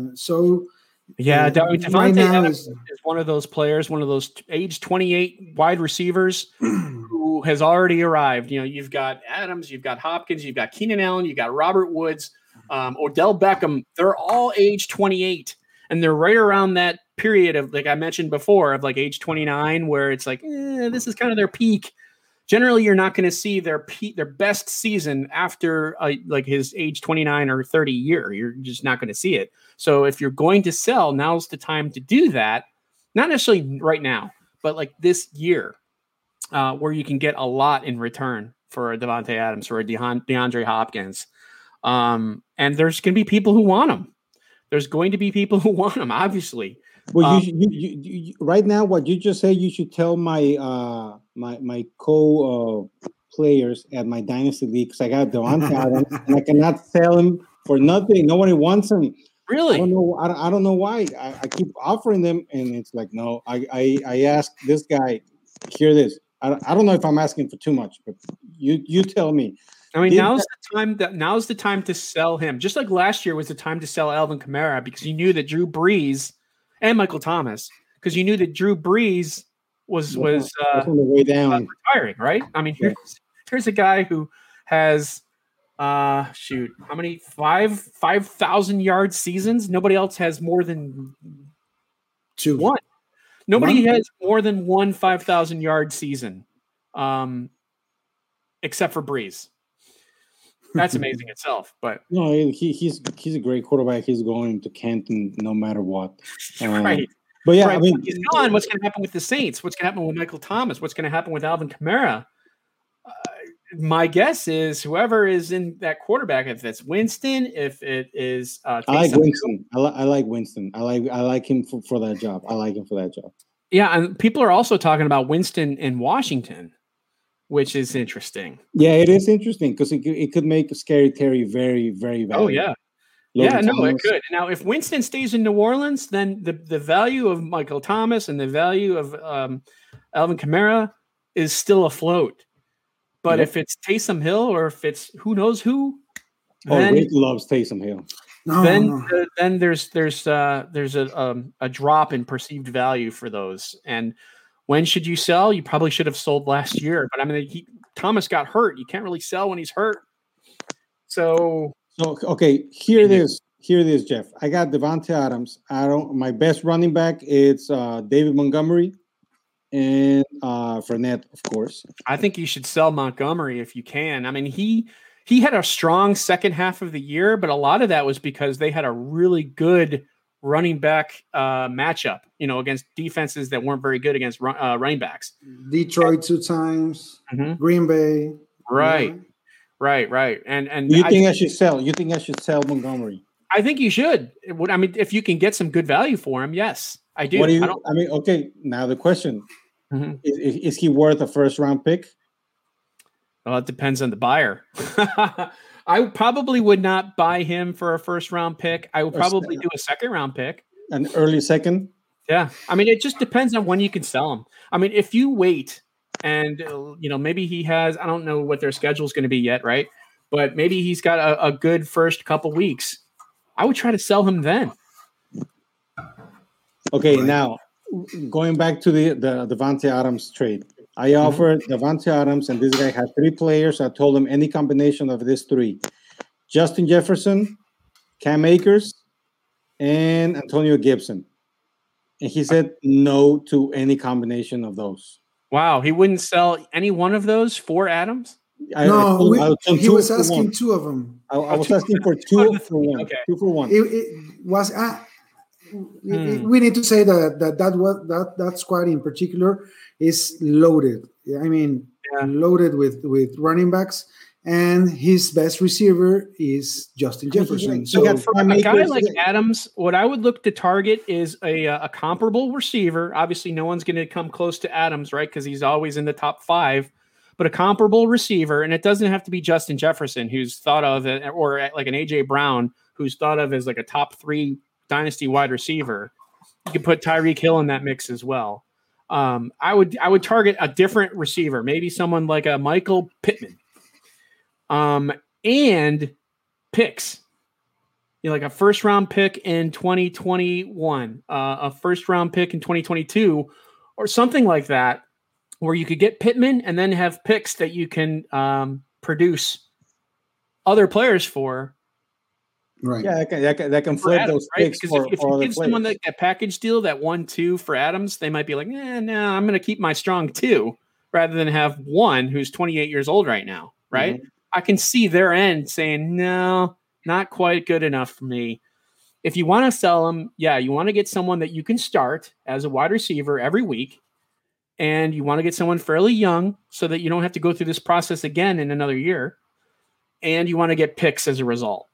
Davante Adams is one of those players, one of those age 28 wide receivers who has already arrived. You've got Adams, you've got Hopkins, you've got Keenan Allen, you've got Robert Woods, Odell Beckham. They're all age 28, and they're right around that period of, like I mentioned before, of like age 29, where it's like, this is kind of their peak. Generally, you're not going to see their best season after like his age 29 or 30 year. You're just not going to see it. So if you're going to sell, now's the time to do that. Not necessarily right now, but like this year, where you can get a lot in return for a Davante Adams or a DeAndre Hopkins. And there's going to be people who want him. There's going to be people who want him, obviously. Well, you right now, what you just said, you should tell my my players at my dynasty league because I got Devontae Adams and I cannot sell him for nothing. Nobody wants him. Really? I don't know. I don't know why. I keep offering them, and it's like no. I asked this guy. Hear this. I don't know if I'm asking for too much, but you tell me. I mean, now's the time to sell him. Just like last year was the time to sell Alvin Kamara because you knew that Drew Brees and Michael Thomas because you knew that Drew Brees was on the way down, retiring. Right? I mean, here's a guy who has how many 5,000 yard seasons? Nobody else has more than one. Nobody has more than one 5,000 yard season, except for Brees. That's amazing itself. But no, he's a great quarterback. He's going to Canton no matter what. Right. But yeah, right. I mean, he's gone. What's going to happen with the Saints? What's going to happen with Michael Thomas? What's going to happen with Alvin Kamara? My guess is whoever is in that quarterback, if it's Winston, if it is, I like Winston. I like Winston. I like him for that job. I like him for that job. Yeah, and people are also talking about Winston in Washington, which is interesting. Yeah, it is interesting because it could make Scary Terry very, very valuable. Oh yeah. It could. Now, if Winston stays in New Orleans, then the value of Michael Thomas and the value of Alvin Kamara is still afloat. But if it's Taysom Hill or if it's who knows who, then Rick loves Taysom Hill. Then there's a drop in perceived value for those. And when should you sell? You probably should have sold last year. But I mean, Thomas got hurt. You can't really sell when he's hurt. So okay, here it is, Jeff. I got Devontae Adams. My best running back is David Montgomery and Fournette, of course. I think you should sell Montgomery if you can. I mean, he had a strong second half of the year, but a lot of that was because they had a really good running back matchup, against defenses that weren't very good against running backs. Detroit 2 times, Green Bay. Right. Yeah. Right. And you think I should sell? You think I should sell Montgomery? I think you should. I mean, if you can get some good value for him, yes, I do. Okay. Now the question: is he worth a first round pick? Well, it depends on the buyer. I probably would not buy him for a first round pick. I would probably do a second round pick. An early second? Yeah. I mean, it just depends on when you can sell him. I mean, if you wait and, maybe he has, I don't know what their schedule is going to be yet, right? But maybe he's got a good first couple weeks. I would try to sell him then. Okay, now going back to the Devontae Adams trade. I offered Devontae Adams, and this guy had 3 players. I told him any combination of these 3. Justin Jefferson, Cam Akers, and Antonio Gibson. And he said no to any combination of those. Wow, he wouldn't sell any one of those for Adams? He was asking 2 of them. I was asking for 2 for 1. Okay. 2 for 1. It was... We need to say that squad in particular is loaded. I mean, loaded with running backs, and his best receiver is Justin Jefferson. So for a guy like Adams, what I would look to target is a comparable receiver. Obviously, no one's going to come close to Adams, right? Because he's always in the top 5. But a comparable receiver, and it doesn't have to be Justin Jefferson, who's thought of, or like an AJ Brown, who's thought of as like a top 3 dynasty wide receiver. You could put Tyreek Hill in that mix as well. I would target a different receiver, maybe someone like a Michael Pittman, and picks. Like a first round pick in 2021, a first round pick in 2022, or something like that, where you could get Pittman and then have picks that you can produce other players for. Right. Yeah, that can flip those picks for if you give someone that package deal, that 1-2 for Adams, they might be like, no, I'm going to keep my strong 2 rather than have 1 who's 28 years old right now, right? Mm-hmm. I can see their end saying, no, not quite good enough for me. If you want to sell them, you want to get someone that you can start as a wide receiver every week, and you want to get someone fairly young so that you don't have to go through this process again in another year, and you want to get picks as a result.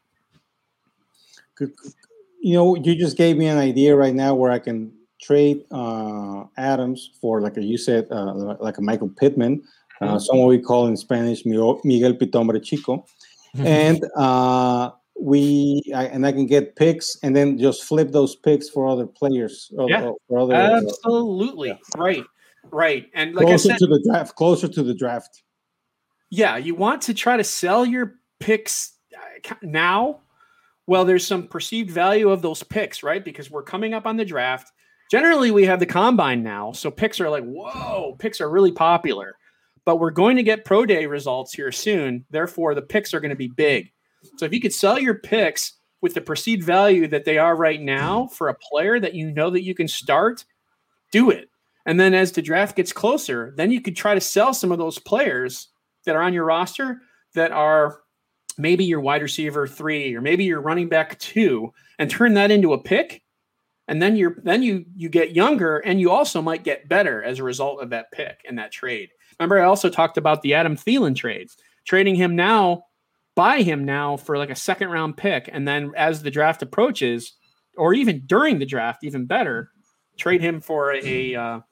You just gave me an idea right now where I can trade Adams for, like you said, like a Michael Pittman, someone we call in Spanish Miguel Pitombre Chico. And I can get picks and then just flip those picks for other players. Absolutely. Right. And like closer to the draft. Yeah, you want to try to sell your picks now. Well, there's some perceived value of those picks, right? Because we're coming up on the draft. Generally, we have the combine now, so picks are like, whoa, picks are really popular. But we're going to get pro day results here soon. Therefore, the picks are going to be big. So if you could sell your picks with the perceived value that they are right now for a player that you know that you can start, do it. And then as the draft gets closer, then you could try to sell some of those players that are on your roster that are maybe your wide receiver 3 or maybe your running back 2 and turn that into a pick. And then you get younger and you also might get better as a result of that pick and that trade. Remember, I also talked about the Adam Thielen trades, trading him now, buy him now for like a second round pick. And then as the draft approaches, or even during the draft, even better, trade him for a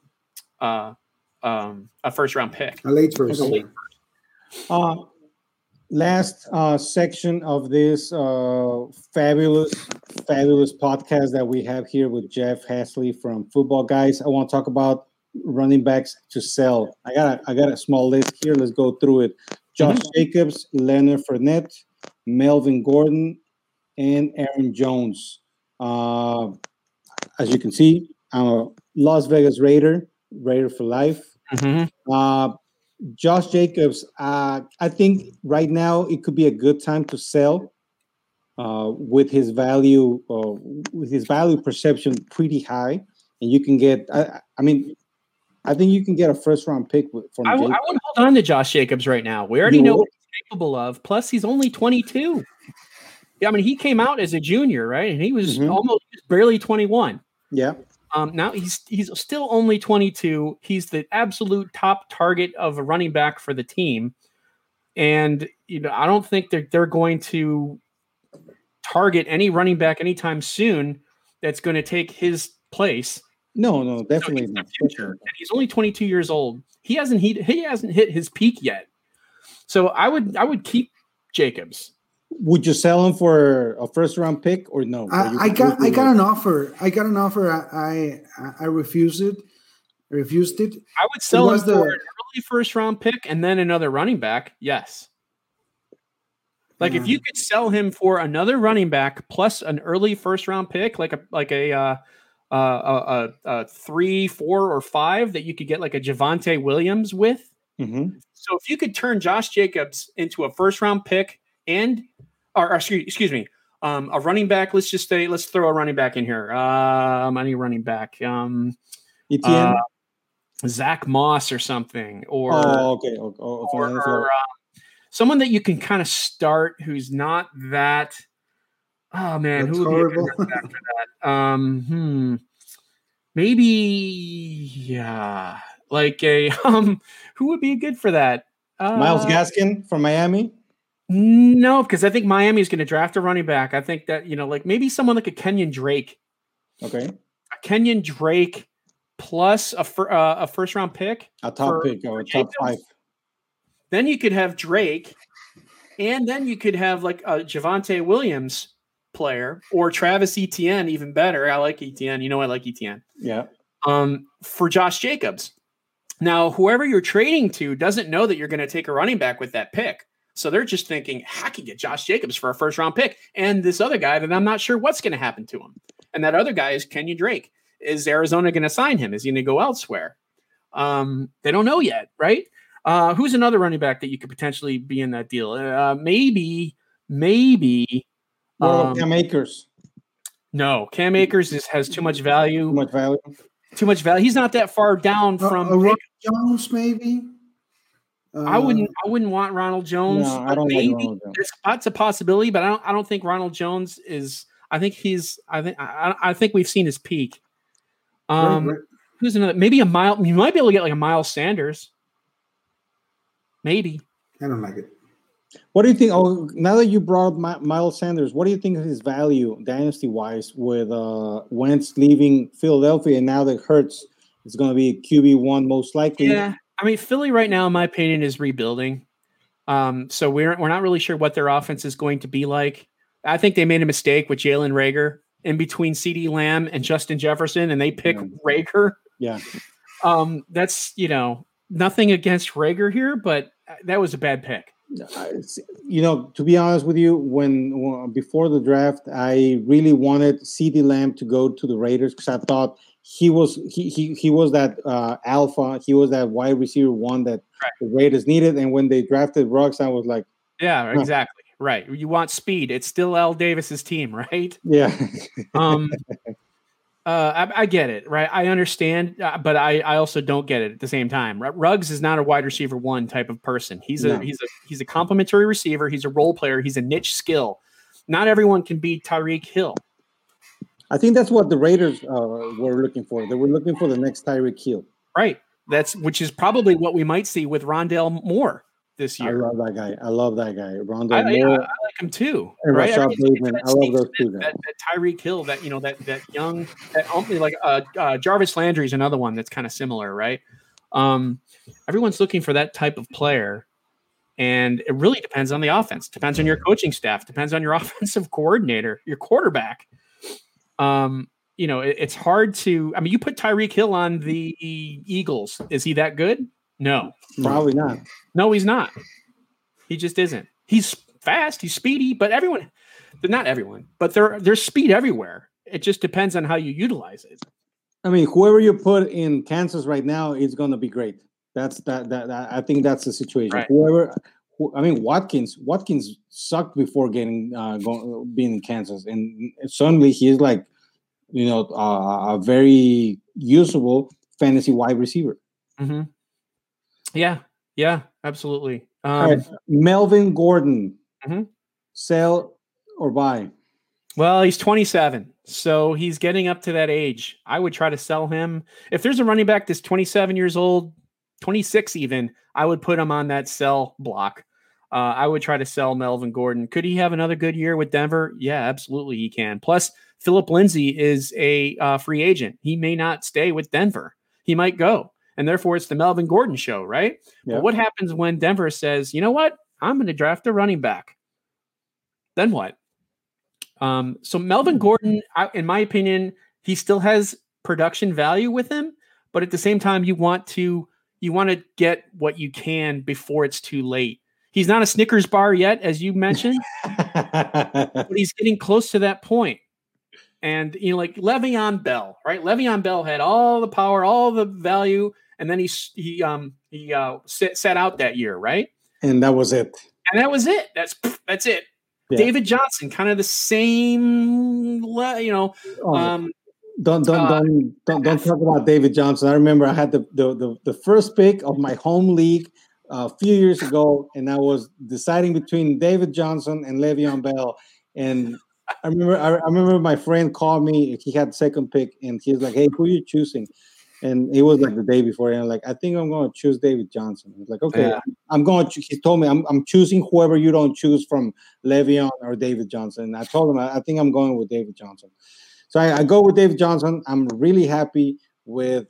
first round pick. A late first. Last section of this fabulous podcast that we have here with Jeff Hasley from Football Guys. I want to talk about running backs to sell. I got a small list here. Let's go through it. Josh Jacobs, Leonard Fournette, Melvin Gordon, and Aaron Jones. As you can see, I'm a Las Vegas Raider for life. Josh Jacobs, I think right now it could be a good time to sell with his value perception pretty high, and you can get. I think you can get a first round pick from. I would hold on to Josh Jacobs right now. We already know what he's capable of. Plus, he's only 22. Yeah, I mean, he came out as a junior, right? And he was almost barely 21. Yeah. Now he's still only 22. He's the absolute top target of a running back for the team, and I don't think they're going to target any running back anytime soon that's going to take his place. No, definitely not. And he's only 22 years old. He hasn't hit his peak yet. So I would keep Jacobs. Would you sell him for a first round pick or no? I got an offer. I refused it. I would sell him for an early first round pick and then another running back. Yes. Like if you could sell him for another running back plus an early first round pick, like a 3, 4, or 5 that you could get like a Javonte Williams with. So if you could turn Josh Jacobs into a first round pick excuse me, a running back. Let's throw a running back in here. Any running back, Etienne, Zach Moss or something, or someone that you can kind of start who's not that. Oh man, that's who would horrible. be a good running back for that? Maybe like a who would be good for that? Myles Gaskin from Miami. No, because I think Miami is going to draft a running back. I think that, like maybe someone like a Kenyon Drake. Okay. A Kenyon Drake plus a first round pick. A top pick or a top 5. Then you could have Drake, and then you could have like a Javonte Williams player or Travis Etienne, even better. I like Etienne. I like Etienne. Yeah. For Josh Jacobs. Now, whoever you're trading to doesn't know that you're going to take a running back with that pick. So they're just thinking, I could get Josh Jacobs for a first round pick. And this other guy that I'm not sure what's going to happen to him. And that other guy is Kenyon Drake. Is Arizona going to sign him? Is he going to go elsewhere? They don't know yet, right? Who's another running back that you could potentially be in that deal? Maybe. Cam Akers. No, Cam Akers has too much value. Too much value. He's not that far down from Ronald Jones, maybe. I wouldn't want Ronald Jones. No, I don't like Ronald Jones. That's a possibility, but I don't think Ronald Jones is. I think we've seen his peak. Who's another? Maybe you might be able to get like a Miles Sanders. Maybe. I don't like it. What do you think? Oh, now that you brought up Miles Sanders, what do you think of his value dynasty-wise with Wentz leaving Philadelphia, and now that Hurts is going to be QB1 most likely? Yeah, I mean, Philly right now, in my opinion, is rebuilding. So we're not really sure what their offense is going to be like. I think they made a mistake with Jalen Reagor in between CeeDee Lamb and Justin Jefferson, and they pick Reagor. Yeah. That's, nothing against Reagor here, but that was a bad pick. To be honest with you, when before the draft, I really wanted CeeDee Lamb to go to the Raiders because I thought he was that alpha. He was that wide receiver one that the Raiders needed. And when they drafted Ruggs, I was like, yeah, exactly. Right. You want speed. It's still Al Davis's team, right? Yeah. I get it, right? I understand, but I also don't get it at the same time. Ruggs is not a wide receiver one type of person. He's a complementary receiver. He's a role player. He's a niche skill. Not everyone can be Tyreek Hill. I think that's what the Raiders were looking for. They were looking for the next Tyreek Hill. Right. Which is probably what we might see with Rondale Moore this year. I love that guy. Rondale Moore. Yeah, I like him too. And right? Rashad Bateman. I love those two guys. That Tyreek Hill, that young, Jarvis Landry is another one that's kind of similar, right? Everyone's looking for that type of player, and it really depends on the offense. Depends on your coaching staff. Depends on your offensive coordinator, your quarterback. It's hard to. I mean, you put Tyreek Hill on the Eagles. Is he that good? No, probably not. No, he's not. He just isn't. He's fast. He's speedy. But not everyone. But there's speed everywhere. It just depends on how you utilize it. I mean, whoever you put in Kansas right now is going to be great. That's that. I think that's the situation. Right. Watkins sucked before being in Kansas, and suddenly he's like, a very usable fantasy wide receiver. Mm-hmm. Yeah, absolutely. All right. Melvin Gordon, mm-hmm. Sell or buy? Well, he's 27, so he's getting up to that age. I would try to sell him. If there's a running back that's 27 years old, 26 even, I would put him on that sell block. I would try to sell Melvin Gordon. Could he have another good year with Denver? Yeah, absolutely he can. Plus, Philip Lindsay is a free agent. He may not stay with Denver. He might go. And therefore, it's the Melvin Gordon show, right? Yeah. But what happens when Denver says, you know what? I'm going to draft a running back. Then what? So Melvin Gordon, in my opinion, he still has production value with him. But at the same time, you want to get what you can before it's too late. He's not a Snickers bar yet, as you mentioned, but he's getting close to that point. And, like Le'Veon Bell, right? Le'Veon Bell had all the power, all the value, and then he sat out that year, right? And that was it. That's it. Yeah. David Johnson, kind of the same, Don't talk about David Johnson. I remember I had the first pick of my home league a few years ago, and I was deciding between David Johnson and Le'Veon Bell. And I remember my friend called me. He had second pick, and he was like, "Hey, who are you choosing?" And it was like the day before, and I'm like, "I think I'm going to choose David Johnson." I was like, "Okay, yeah. I'm going to." He told me, "I'm choosing whoever you don't choose from Le'Veon or David Johnson." And I told him, "I think I'm going with David Johnson." So I go with David Johnson. I'm really happy with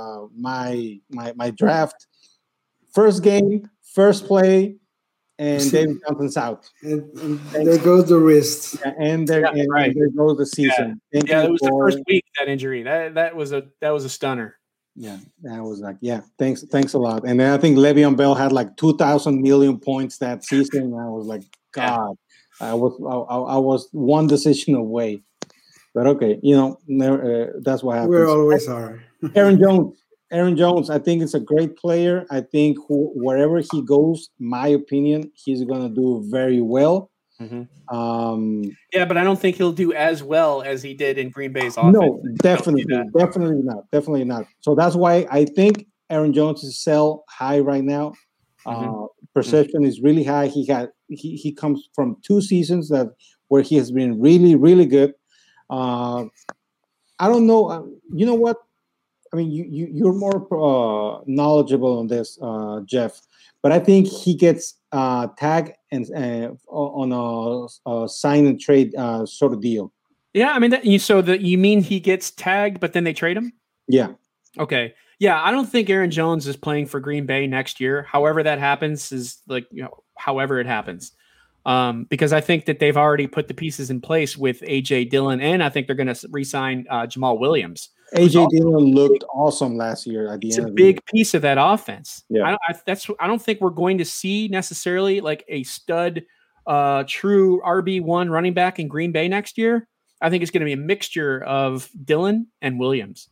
my draft. First game, first play, and David Johnson's out. And there goes the wrist. Yeah, and there goes the season. Yeah, it was the first week, that injury. That was a stunner. Yeah, I was like, thanks a lot. And then I think Le'Veon Bell had like 2,000 million points that season. And I was like, God, I was one decision away. But okay, that's what happens. We always are. Aaron Jones, I think it's a great player. I think wherever he goes, my opinion, he's going to do very well. Mm-hmm. But I don't think he'll do as well as he did in Green Bay's offense. No, definitely not. So that's why I think Aaron Jones is sell high right now. Perception is really high. He comes from 2 seasons where he has been really, really good. I don't know. You know what? I mean, you're more knowledgeable on this, Jeff. But I think he gets tagged and on a sign and trade sort of deal. Yeah, I mean, you mean he gets tagged, but then they trade him? Yeah. Okay. Yeah, I don't think Aaron Jones is playing for Green Bay next year. However that happens is however it happens. Because I think that they've already put the pieces in place with A.J. Dillon, and I think they're going to re-sign Jamal Williams. A.J. Dillon looked awesome last year at the end of the year. It's a big year. piece of that offense. Yeah. I don't think we're going to see necessarily like a stud, true RB1 running back in Green Bay next year. I think it's going to be a mixture of Dillon and Williams.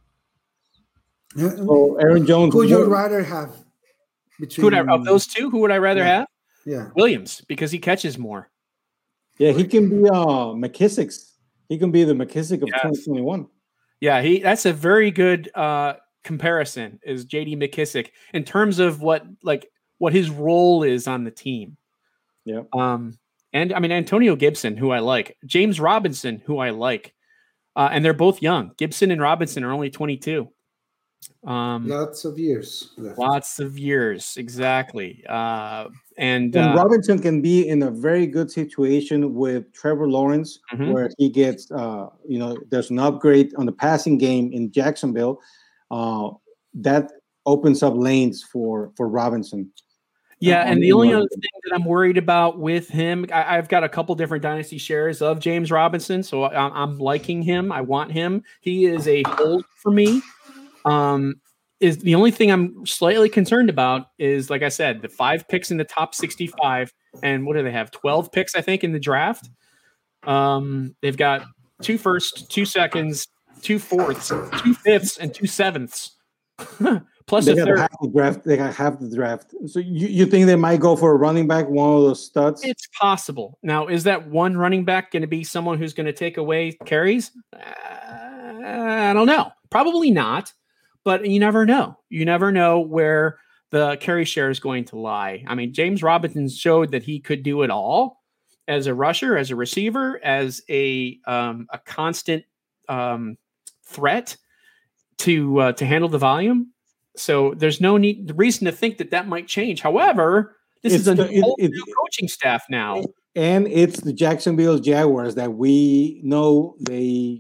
So Aaron Jones. Who would you rather have between of those two? Who would I rather have? Yeah, Williams, because he catches more. Yeah, he can be McKissick's. He can be the McKissick of 2021. Yeah, that's a very good comparison. Is J.D. McKissick in terms of what his role is on the team? Yeah. And I mean Antonio Gibson, who I like, James Robinson, who I like, and they're both young. Gibson and Robinson are only 22. Lots of years left. Lots of years, exactly. And Robinson can be in a very good situation with Trevor Lawrence, where he gets, there's an upgrade on the passing game in Jacksonville. That opens up lanes for Robinson. Yeah, and the only other thing that I'm worried about with him, I've got a couple different dynasty shares of James Robinson, so I'm liking him. I want him. He is a hold for me. Is the only thing I'm slightly concerned about is, like I said, the 5 picks in the top 65, and what do they have? 12 picks, I think, in the draft. They've got 2 firsts, 2 seconds, 2 fourths, 2 fifths, and 2 sevenths. Plus a third. They got half the draft. So you think they might go for a running back, one of those studs? It's possible. Now, is that one running back going to be someone who's going to take away carries? I don't know. Probably not. But you never know. You never know where the carry share is going to lie. I mean, James Robinson showed that he could do it all as a rusher, as a receiver, as a constant threat to handle the volume. So there's no reason to think that might change. However, this is a new coaching staff now. And it's the Jacksonville Jaguars that we know they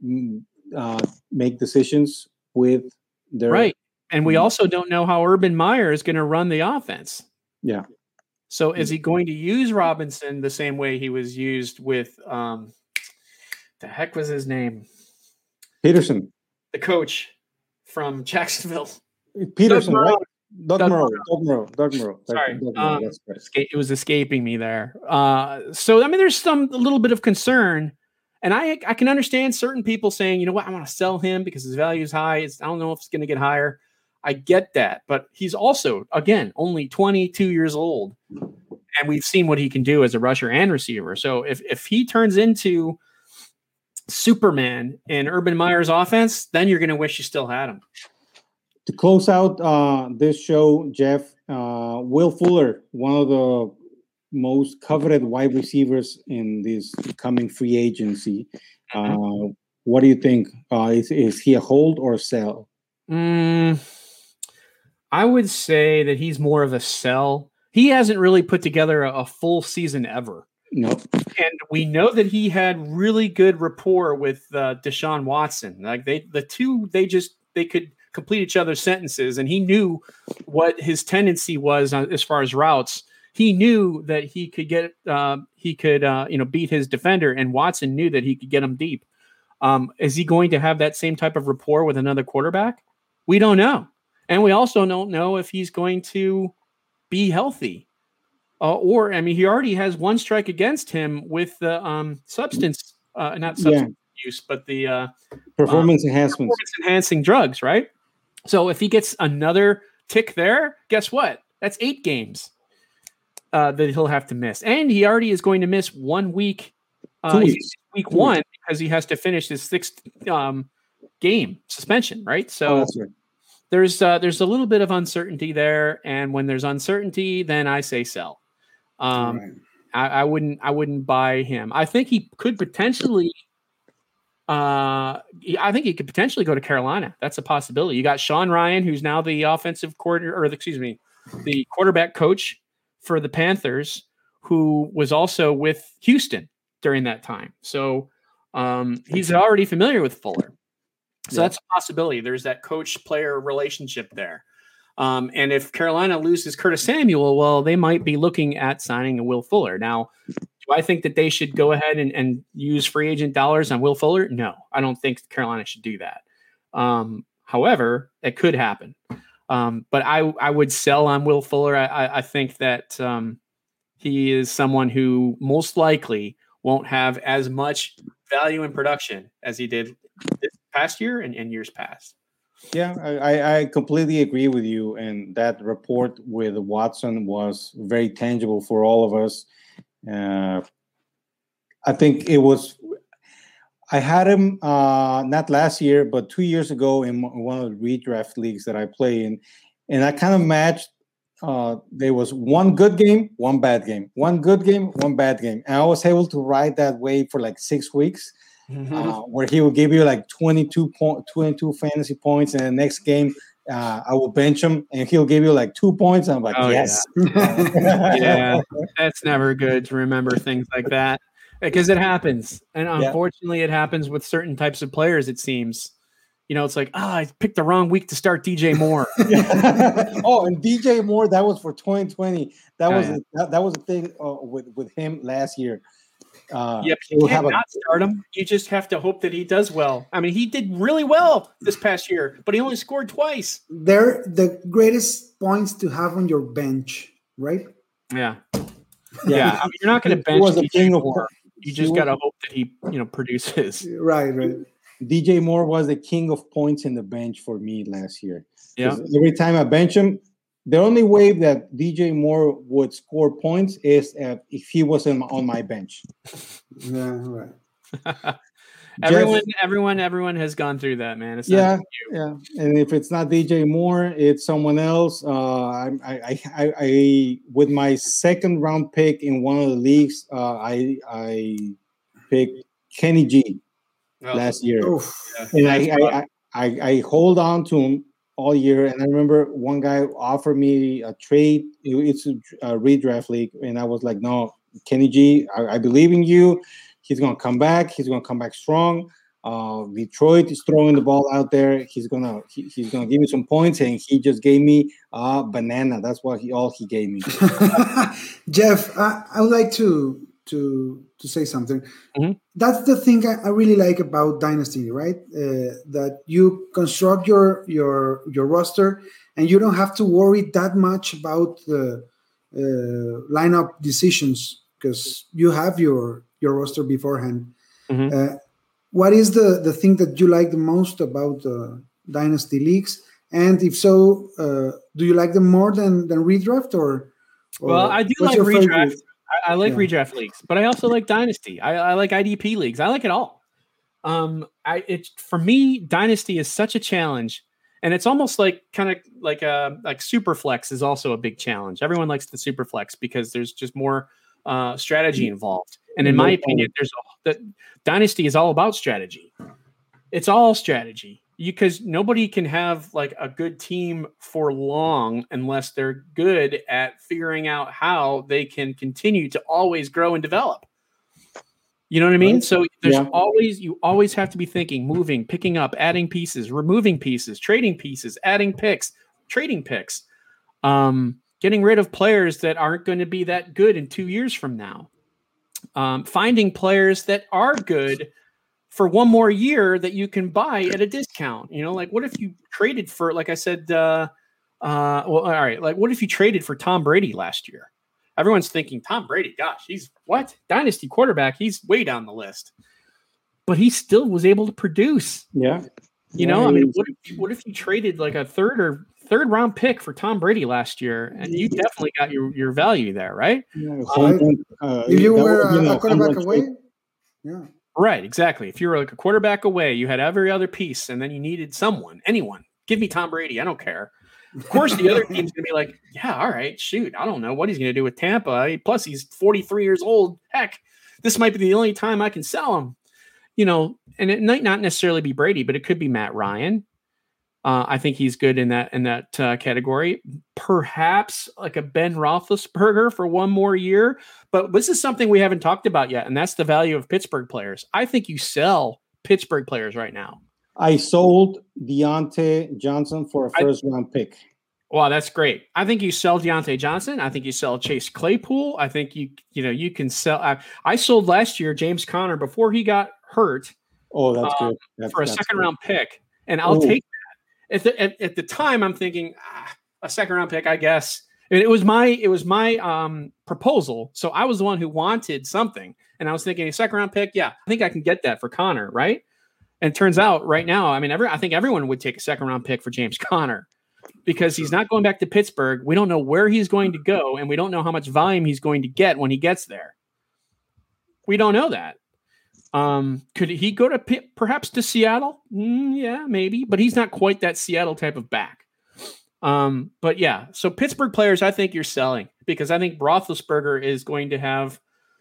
make decisions with their... Right. And we also don't know how Urban Meyer is going to run the offense. Yeah. So is he going to use Robinson the same way he was used with the heck was his name? Peterson. The coach from Jacksonville. Peterson, right? Doug Merrill. Sorry. It was escaping me there. So, I mean, there's a little bit of concern. And I can understand certain people saying, you know what, I want to sell him because his value is high. I don't know if it's going to get higher. I get that. But he's also, again, only 22 years old. And we've seen what he can do as a rusher and receiver. So if he turns into Superman in Urban Meyer's offense, then you're going to wish you still had him. To close out this show, Jeff, Will Fuller, one of the most coveted wide receivers in this coming free agency. What do you think? Is he a hold or a sell? I would say that he's more of a sell. He hasn't really put together a full season ever. No. And we know that he had really good rapport with Deshaun Watson. Like they could complete each other's sentences, and he knew what his tendency was as far as routes. He knew that he could get beat his defender, and Watson knew that he could get him deep. Is he going to have that same type of rapport with another quarterback? We don't know. And we also don't know if he's going to be healthy. He already has one strike against him with the not substance use, but the performance enhancing drugs, right? So if he gets another tick there, guess what? That's 8 games that he'll have to miss. And he already is going to miss 1 week, week 1, because he has to finish his 6th game suspension, right? So right. There's a little bit of uncertainty there. And when there's uncertainty, then I say sell. Right. I wouldn't buy him. I think he could potentially go to Carolina. That's a possibility. You got Sean Ryan, who's now the the quarterback coach for the Panthers, who was also with Houston during that time. So he's already familiar with Fuller. So that's a possibility. There's that coach-player relationship there. And if Carolina loses Curtis Samuel, well, they might be looking at signing a Will Fuller. Now, do I think that they should go ahead and use free agent dollars on Will Fuller? No, I don't think Carolina should do that. However, it could happen. But I would sell on Will Fuller. I think that he is someone who most likely won't have as much value in production as he did this past year and years past. Yeah, I completely agree with you. And that report with Watson was very tangible for all of us. I think it was, I had him not last year, but 2 years ago in one of the redraft leagues that I play in. And I kind of matched, there was one good game, one bad game, one good game, one bad game. And I was able to ride that wave for like 6 weeks. Where he will give you like 22 fantasy points, and the next game I will bench him and he'll give you like 2 points. And I'm like, yes. Yeah, that's never good to remember things like that because it happens. And unfortunately, it happens with certain types of players, it seems. You know, it's like, I picked the wrong week to start DJ Moore. And DJ Moore, that was for 2020. That was the thing with him last year. But you can't not start him. You just have to hope that he does well. I mean, he did really well this past year, but he only scored twice. They're the greatest points to have on your bench, right? Yeah. I mean, you're not going to bench DJ Moore. You just got to hope that he, produces. Right. DJ Moore was the king of points in the bench for me last year. Yeah. Every time I bench him, the only way that DJ Moore would score points is if he was on my bench. Yeah, right. Everyone has gone through that, man. It's not you. And if it's not DJ Moore, it's someone else. I with my second round pick in one of the leagues, I picked Kenny G last year, and I hold on to him all year. And I remember one guy offered me a trade. It's a redraft league. And I was like, no, Kenny G, I believe in you. He's going to come back. He's going to come back strong. Detroit is throwing the ball out there. He's gonna give me some points. And he just gave me a banana. That's what he gave me. Jeff, I would like to say something. Mm-hmm. That's the thing I really like about Dynasty, right? That you construct your roster and you don't have to worry that much about the lineup decisions because you have your roster beforehand. Mm-hmm. What is the thing that you like the most about Dynasty leagues? And if so, do you like them more than redraft or well, I do like redraft. Favorite? I like redraft leagues, but I also like Dynasty. I like IDP leagues. I like it all. For me, Dynasty is such a challenge, and it's almost like kind of like Superflex is also a big challenge. Everyone likes the Superflex because there's just more strategy involved. And in my opinion, Dynasty is all about strategy. It's all strategy. Because nobody can have like a good team for long unless they're good at figuring out how they can continue to always grow and develop. You know what I mean? Right. So you always have to be thinking, moving, picking up, adding pieces, removing pieces, trading pieces, adding picks, trading picks, getting rid of players that aren't going to be that good in 2 years from now, finding players that are good for one more year that you can buy at a discount. Like what if you traded for, like I said, all right. Like what if you traded for Tom Brady last year? Everyone's thinking Tom Brady, gosh, he's what? Dynasty quarterback. He's way down the list, but he still was able to produce. Yeah. I mean, what if you traded like a third round pick for Tom Brady last year and you definitely got your value there, right? If you were a quarterback away. Yeah. Right, exactly. If you were like a quarterback away, you had every other piece, and then you needed anyone. Give me Tom Brady. I don't care. Of course, the other team's going to be like, yeah, all right, shoot. I don't know what he's going to do with Tampa. Plus, he's 43 years old. Heck, this might be the only time I can sell him. And it might not necessarily be Brady, but it could be Matt Ryan. I think he's good in that category. Perhaps like a Ben Roethlisberger for one more year. But this is something we haven't talked about yet, and that's the value of Pittsburgh players. I think you sell Pittsburgh players right now. I sold Deontay Johnson for a first-round pick. Wow, that's great. I think you sell Deontay Johnson. I think you sell Chase Claypool. I think you can sell. I sold last year James Conner before he got hurt. Oh, that's good. For a second-round pick, and I'll take that. At the time, I'm thinking a second-round pick, I guess. And it was my proposal. So I was the one who wanted something, and I was thinking a second-round pick. Yeah, I think I can get that for Conner, right? And it turns out right now, I mean, I think everyone would take a second-round pick for James Conner because he's not going back to Pittsburgh. We don't know where he's going to go, and we don't know how much volume he's going to get when he gets there. We don't know that. Could he go to perhaps to Seattle? Yeah, maybe, but he's not quite that Seattle type of back. But yeah, so Pittsburgh players, I think you're selling because I think Roethlisberger is going to have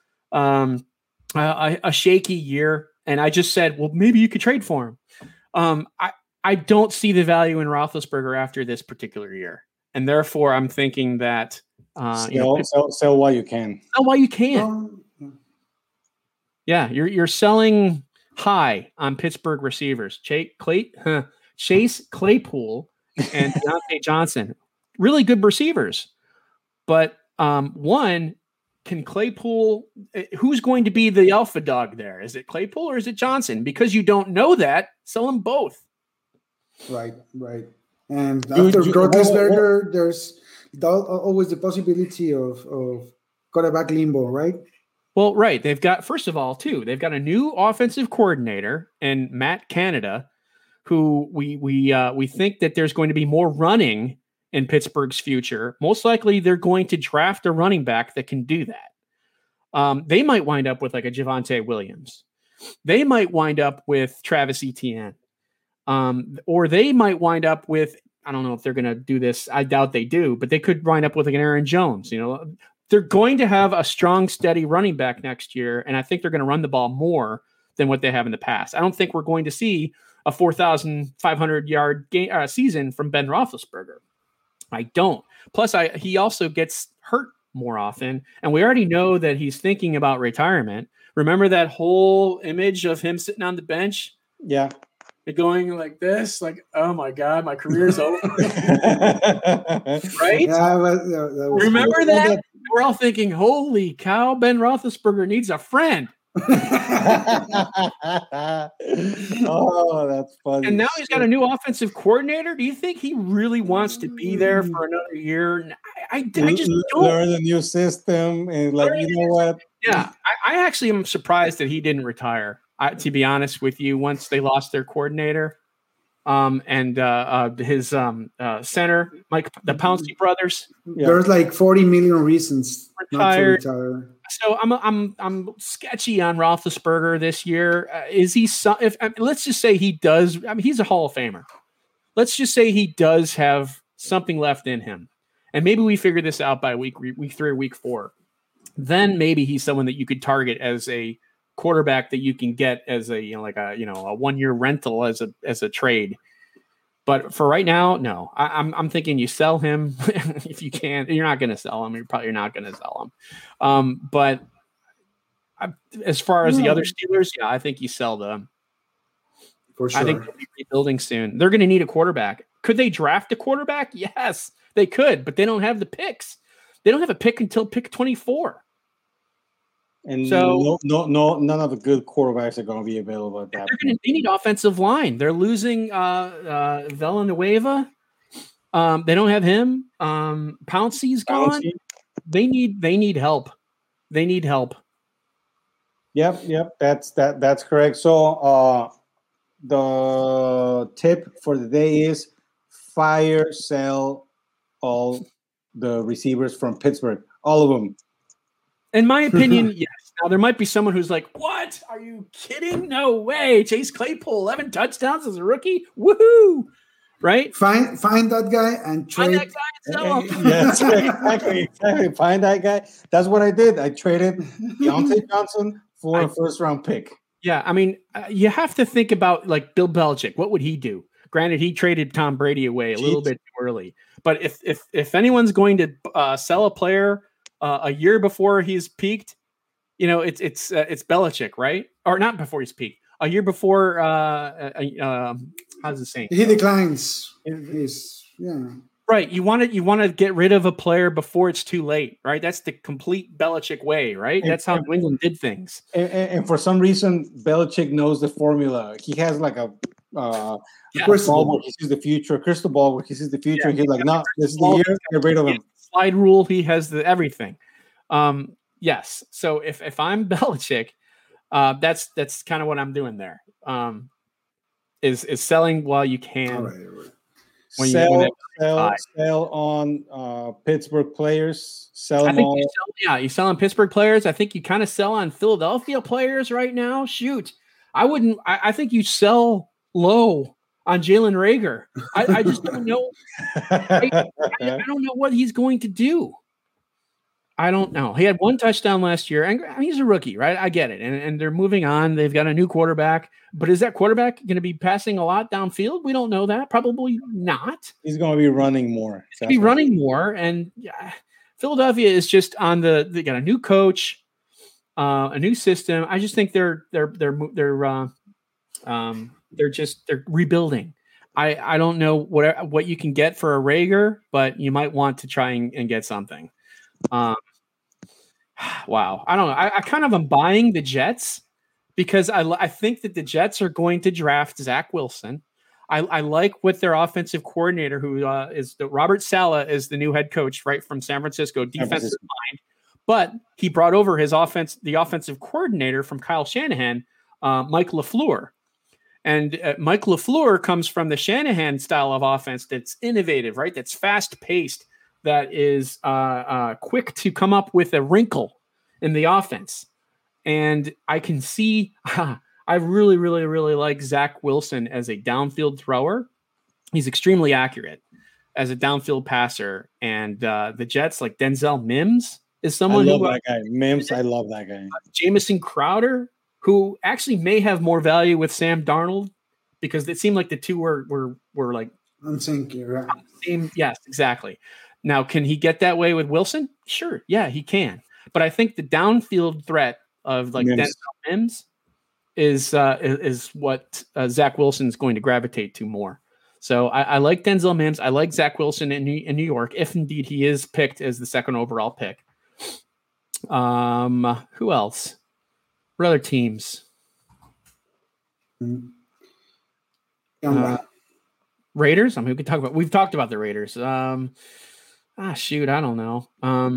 a shaky year. And I just said, well, maybe you could trade for him. I don't see the value in Roethlisberger after this particular year. And therefore, I'm thinking that sell while you can. Sell while you can. Yeah, you're selling high on Pittsburgh receivers. Chase Claypool and Deontay Johnson. Really good receivers. But one, can Claypool, who's going to be the alpha dog there? Is it Claypool or is it Johnson? Because you don't know that, sell them both. Right. And after Roethlisberger, there's always the possibility of quarterback limbo, right? Well, right. They've got, first of all, they've got a new offensive coordinator and Matt Canada, who we think that there's going to be more running in Pittsburgh's future. Most likely they're going to draft a running back that can do that. They might wind up with like a Javonte Williams. They might wind up with Travis Etienne. Or they might wind up with, I don't know if they're going to do this. I doubt they do, but they could wind up with like an Aaron Jones. They're going to have a strong, steady running back next year. And I think they're going to run the ball more than what they have in the past. I don't think we're going to see a 4,500 yard season from Ben Roethlisberger. I don't. Plus, he also gets hurt more often, and we already know that he's thinking about retirement. Remember that whole image of him sitting on the bench? Yeah. Going like this, like, oh my God, my career's over. Right? Yeah, Remember that? We're all thinking, holy cow, Ben Roethlisberger needs a friend. Oh, that's funny. And now he's got a new offensive coordinator. Do you think he really wants to be there for another year? I just don't. Learn a new system and what? Yeah, I actually am surprised that he didn't retire. To be honest with you, once they lost their coordinator, and his center, Mike, the Pouncey brothers. Yeah. There's like 40 million reasons retired. Not to retire. So I'm sketchy on Roethlisberger this year. Is he? Let's just say he does. I mean, he's a Hall of Famer. Let's just say he does have something left in him, and maybe we figure this out by week 3 or week 4. Then maybe he's someone that you could target as a quarterback that you can get as a a 1-year rental as a trade. But for right now, no. I'm thinking you sell him if you can. You're not going to sell him. You're probably not going to sell him. But as far as the other Steelers, yeah, I think you sell them. For sure. I think they'll be rebuilding soon. They're going to need a quarterback. Could they draft a quarterback? Yes, they could, but they don't have the picks. They don't have a pick until pick 24. And so none of the good quarterbacks are going to be available at that point. They need offensive line. They're losing Villanueva. They don't have him. Pouncey's gone. They need help. They need help. Yep. That's correct. So the tip for the day is sell all the receivers from Pittsburgh, all of them. In my opinion, yes. Now, there might be someone who's like, what? Are you kidding? No way. Chase Claypool, 11 touchdowns as a rookie? Woohoo! Right? Find that guy and trade. Find that guy and sell him. Yes, exactly. Find that guy. That's what I did. I traded Deontay Johnson for a first-round pick. Yeah, I mean, you have to think about, like, Bill Belichick. What would he do? Granted, he traded Tom Brady away a little bit too early. But if anyone's going to sell a player a year before he's peaked, it's Belichick, right? Or not before he's peaked. a year before. How's it saying? He declines. Right. You want to get rid of a player before it's too late, right? That's the complete Belichick way, right? That's how New England did things. And for some reason, Belichick knows the formula. He has like a crystal ball where he sees the future, crystal ball where he sees the future. He's like, no, this is the year. Get rid of him. Slide rule. He has everything. Yes. So if I'm Belichick, that's kind of what I'm doing there. Is selling while you can. All right. Sell on Pittsburgh players. Sell them all. You sell on Pittsburgh players. I think you kind of sell on Philadelphia players right now. Shoot, I wouldn't. I think you sell low on Jalen Reagor. I just don't know. I don't know what he's going to do. I don't know. He had one touchdown last year, and he's a rookie, right? I get it. And they're moving on. They've got a new quarterback. But is that quarterback going to be passing a lot downfield? We don't know that. Probably not. He's going to be running more. He's going to be running more. And Philadelphia is just they got a new coach, a new system. I just think they're rebuilding. I don't know what you can get for a Reagor, but you might want to try and get something. Wow. I don't know. I kind of am buying the Jets because I think that the Jets are going to draft Zach Wilson. I like what their offensive coordinator, who is Robert Saleh, is the new head coach, right, from San Francisco, defensive mind. But he brought over the offensive coordinator from Kyle Shanahan, Mike LaFleur. And Mike LaFleur comes from the Shanahan style of offense that's innovative, right? That's fast-paced, that is quick to come up with a wrinkle in the offense. And I can see I really, really, really like Zach Wilson as a downfield thrower. He's extremely accurate as a downfield passer. And the Jets, like Denzel Mims, is someone I love that guy. Mims, I love that guy. Jamison Crowder, who actually may have more value with Sam Darnold, because it seemed like the two were like I'm thinking, right? Same, yes, exactly. Now, can he get that way with Wilson? Sure. Yeah, he can. But I think the downfield threat of like Denzel Mims is what Zach Wilson is going to gravitate to more. So I like Denzel Mims. I like Zach Wilson in New York, if indeed he is picked as the second overall pick. Who else? What other teams? Raiders. I mean, we could talk about. We've talked about the Raiders. Shoot, I don't know.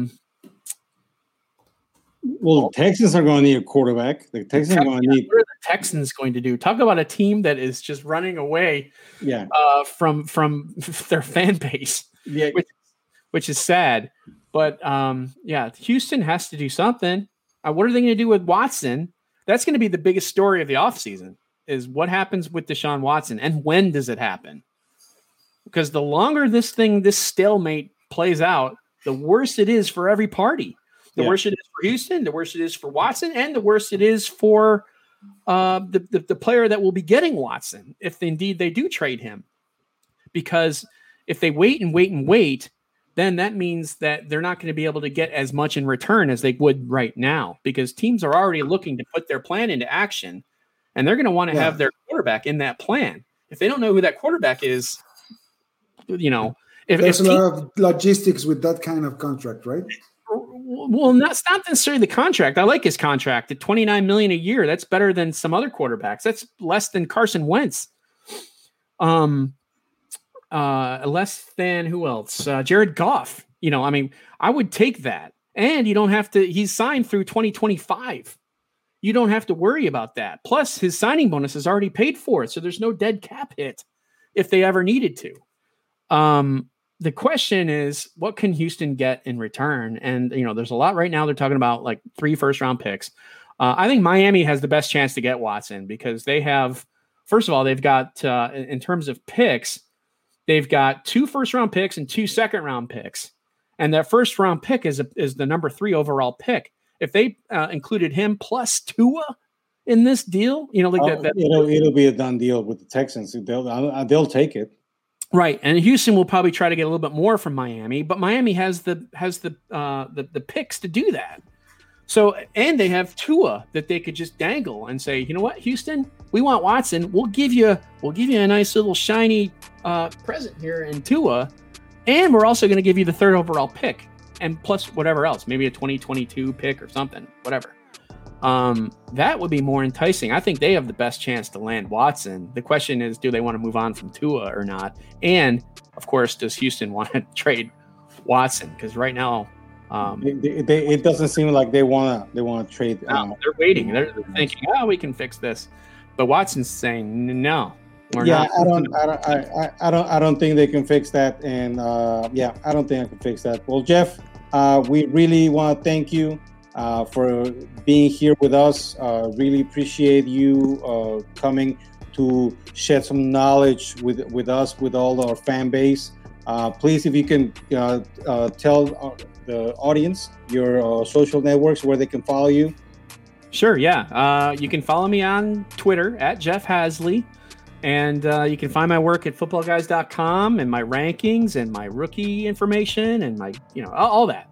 Well, the Texans are going to need a quarterback. The Texans are going to need. What are the Texans going to do? Talk about a team that is just running away. Yeah. From their fan base. Yeah. Which is sad. But Houston has to do something. What are they going to do with Watson? That's going to be the biggest story of the offseason, is what happens with Deshaun Watson and when does it happen? Because the longer this stalemate plays out, the worse it is for every party. The worse it is for Houston, the worse it is for Watson, and the worse it is for the player that will be getting Watson, if indeed they do trade him. Because if they wait, then that means that they're not going to be able to get as much in return as they would right now, because teams are already looking to put their plan into action, and they're going to want to have their quarterback in that plan. If they don't know who that quarterback is, there's a lot of logistics with that kind of contract, right? Well, it's not necessarily the contract. I like his contract at $29 million a year. That's better than some other quarterbacks. That's less than Carson Wentz. Less than who else? Jared Goff. I would take that. And you don't have to. He's signed through 2025. You don't have to worry about that. Plus, his signing bonus is already paid for, so there's no dead cap hit if they ever needed to. The question is, what can Houston get in return? And, there's a lot right now. They're talking about like 3 first-round picks. I think Miami has the best chance to get Watson because they have, first of all, they've got, in terms of picks, they've got 2 first-round picks and 2 second-round picks. And that first-round pick is the number 3 overall pick. If they included him plus Tua in this deal, it'll be a done deal with the Texans. They'll take it. Right, and Houston will probably try to get a little bit more from Miami, but Miami has the picks to do that. So, and they have Tua that they could just dangle and say, you know what, Houston, we want Watson. We'll give you a nice little shiny present here in Tua, and we're also going to give you the 3rd overall pick, and plus whatever else, maybe a 2022 pick or something, whatever. That would be more enticing. I think they have the best chance to land Watson. The question is, do they want to move on from Tua or not? And of course, does Houston want to trade Watson? Because right now, it doesn't seem like they want to trade. No, they're waiting. They're thinking, we can fix this, but Watson's saying no. Not. I don't think they can fix that, and I don't think I can fix that. Well, Jeff, we really want to thank you for being here with us. Really appreciate you coming to shed some knowledge with us, with all our fan base. Please, if you can tell the audience your social networks where they can follow you. Sure, yeah. You can follow me on Twitter at Jeff Hasley. And you can find my work at footballguys.com and my rankings and my rookie information and my, all that.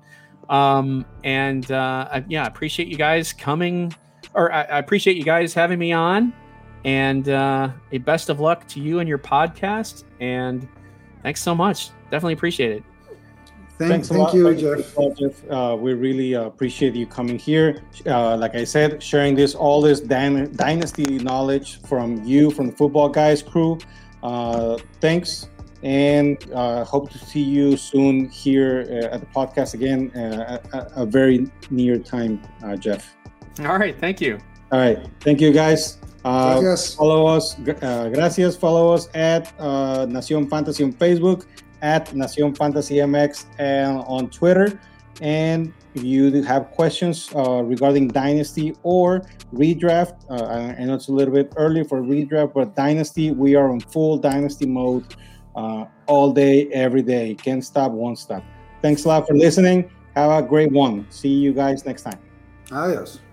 I appreciate you guys coming, or I appreciate you guys having me on, and a best of luck to you and your podcast. And thanks so much. Definitely appreciate it. Thank you, Jeff. We really appreciate you coming here. Like I said, sharing all this dynasty knowledge from you, from the Football Guys crew. Thanks, and hope to see you soon here at the podcast again at a very near time, Jeff. All right, thank you. All right, thank you, guys. Follow us. Gracias. Follow us at Nación Fantasy on Facebook, at Nación Fantasy MX, and on Twitter. And if you have questions regarding Dynasty or Redraft, I know it's a little bit early for Redraft, but Dynasty, we are in full Dynasty mode all day, every day. Can't stop, won't stop. Thanks a lot for listening. Have a great one. See you guys next time. Adios.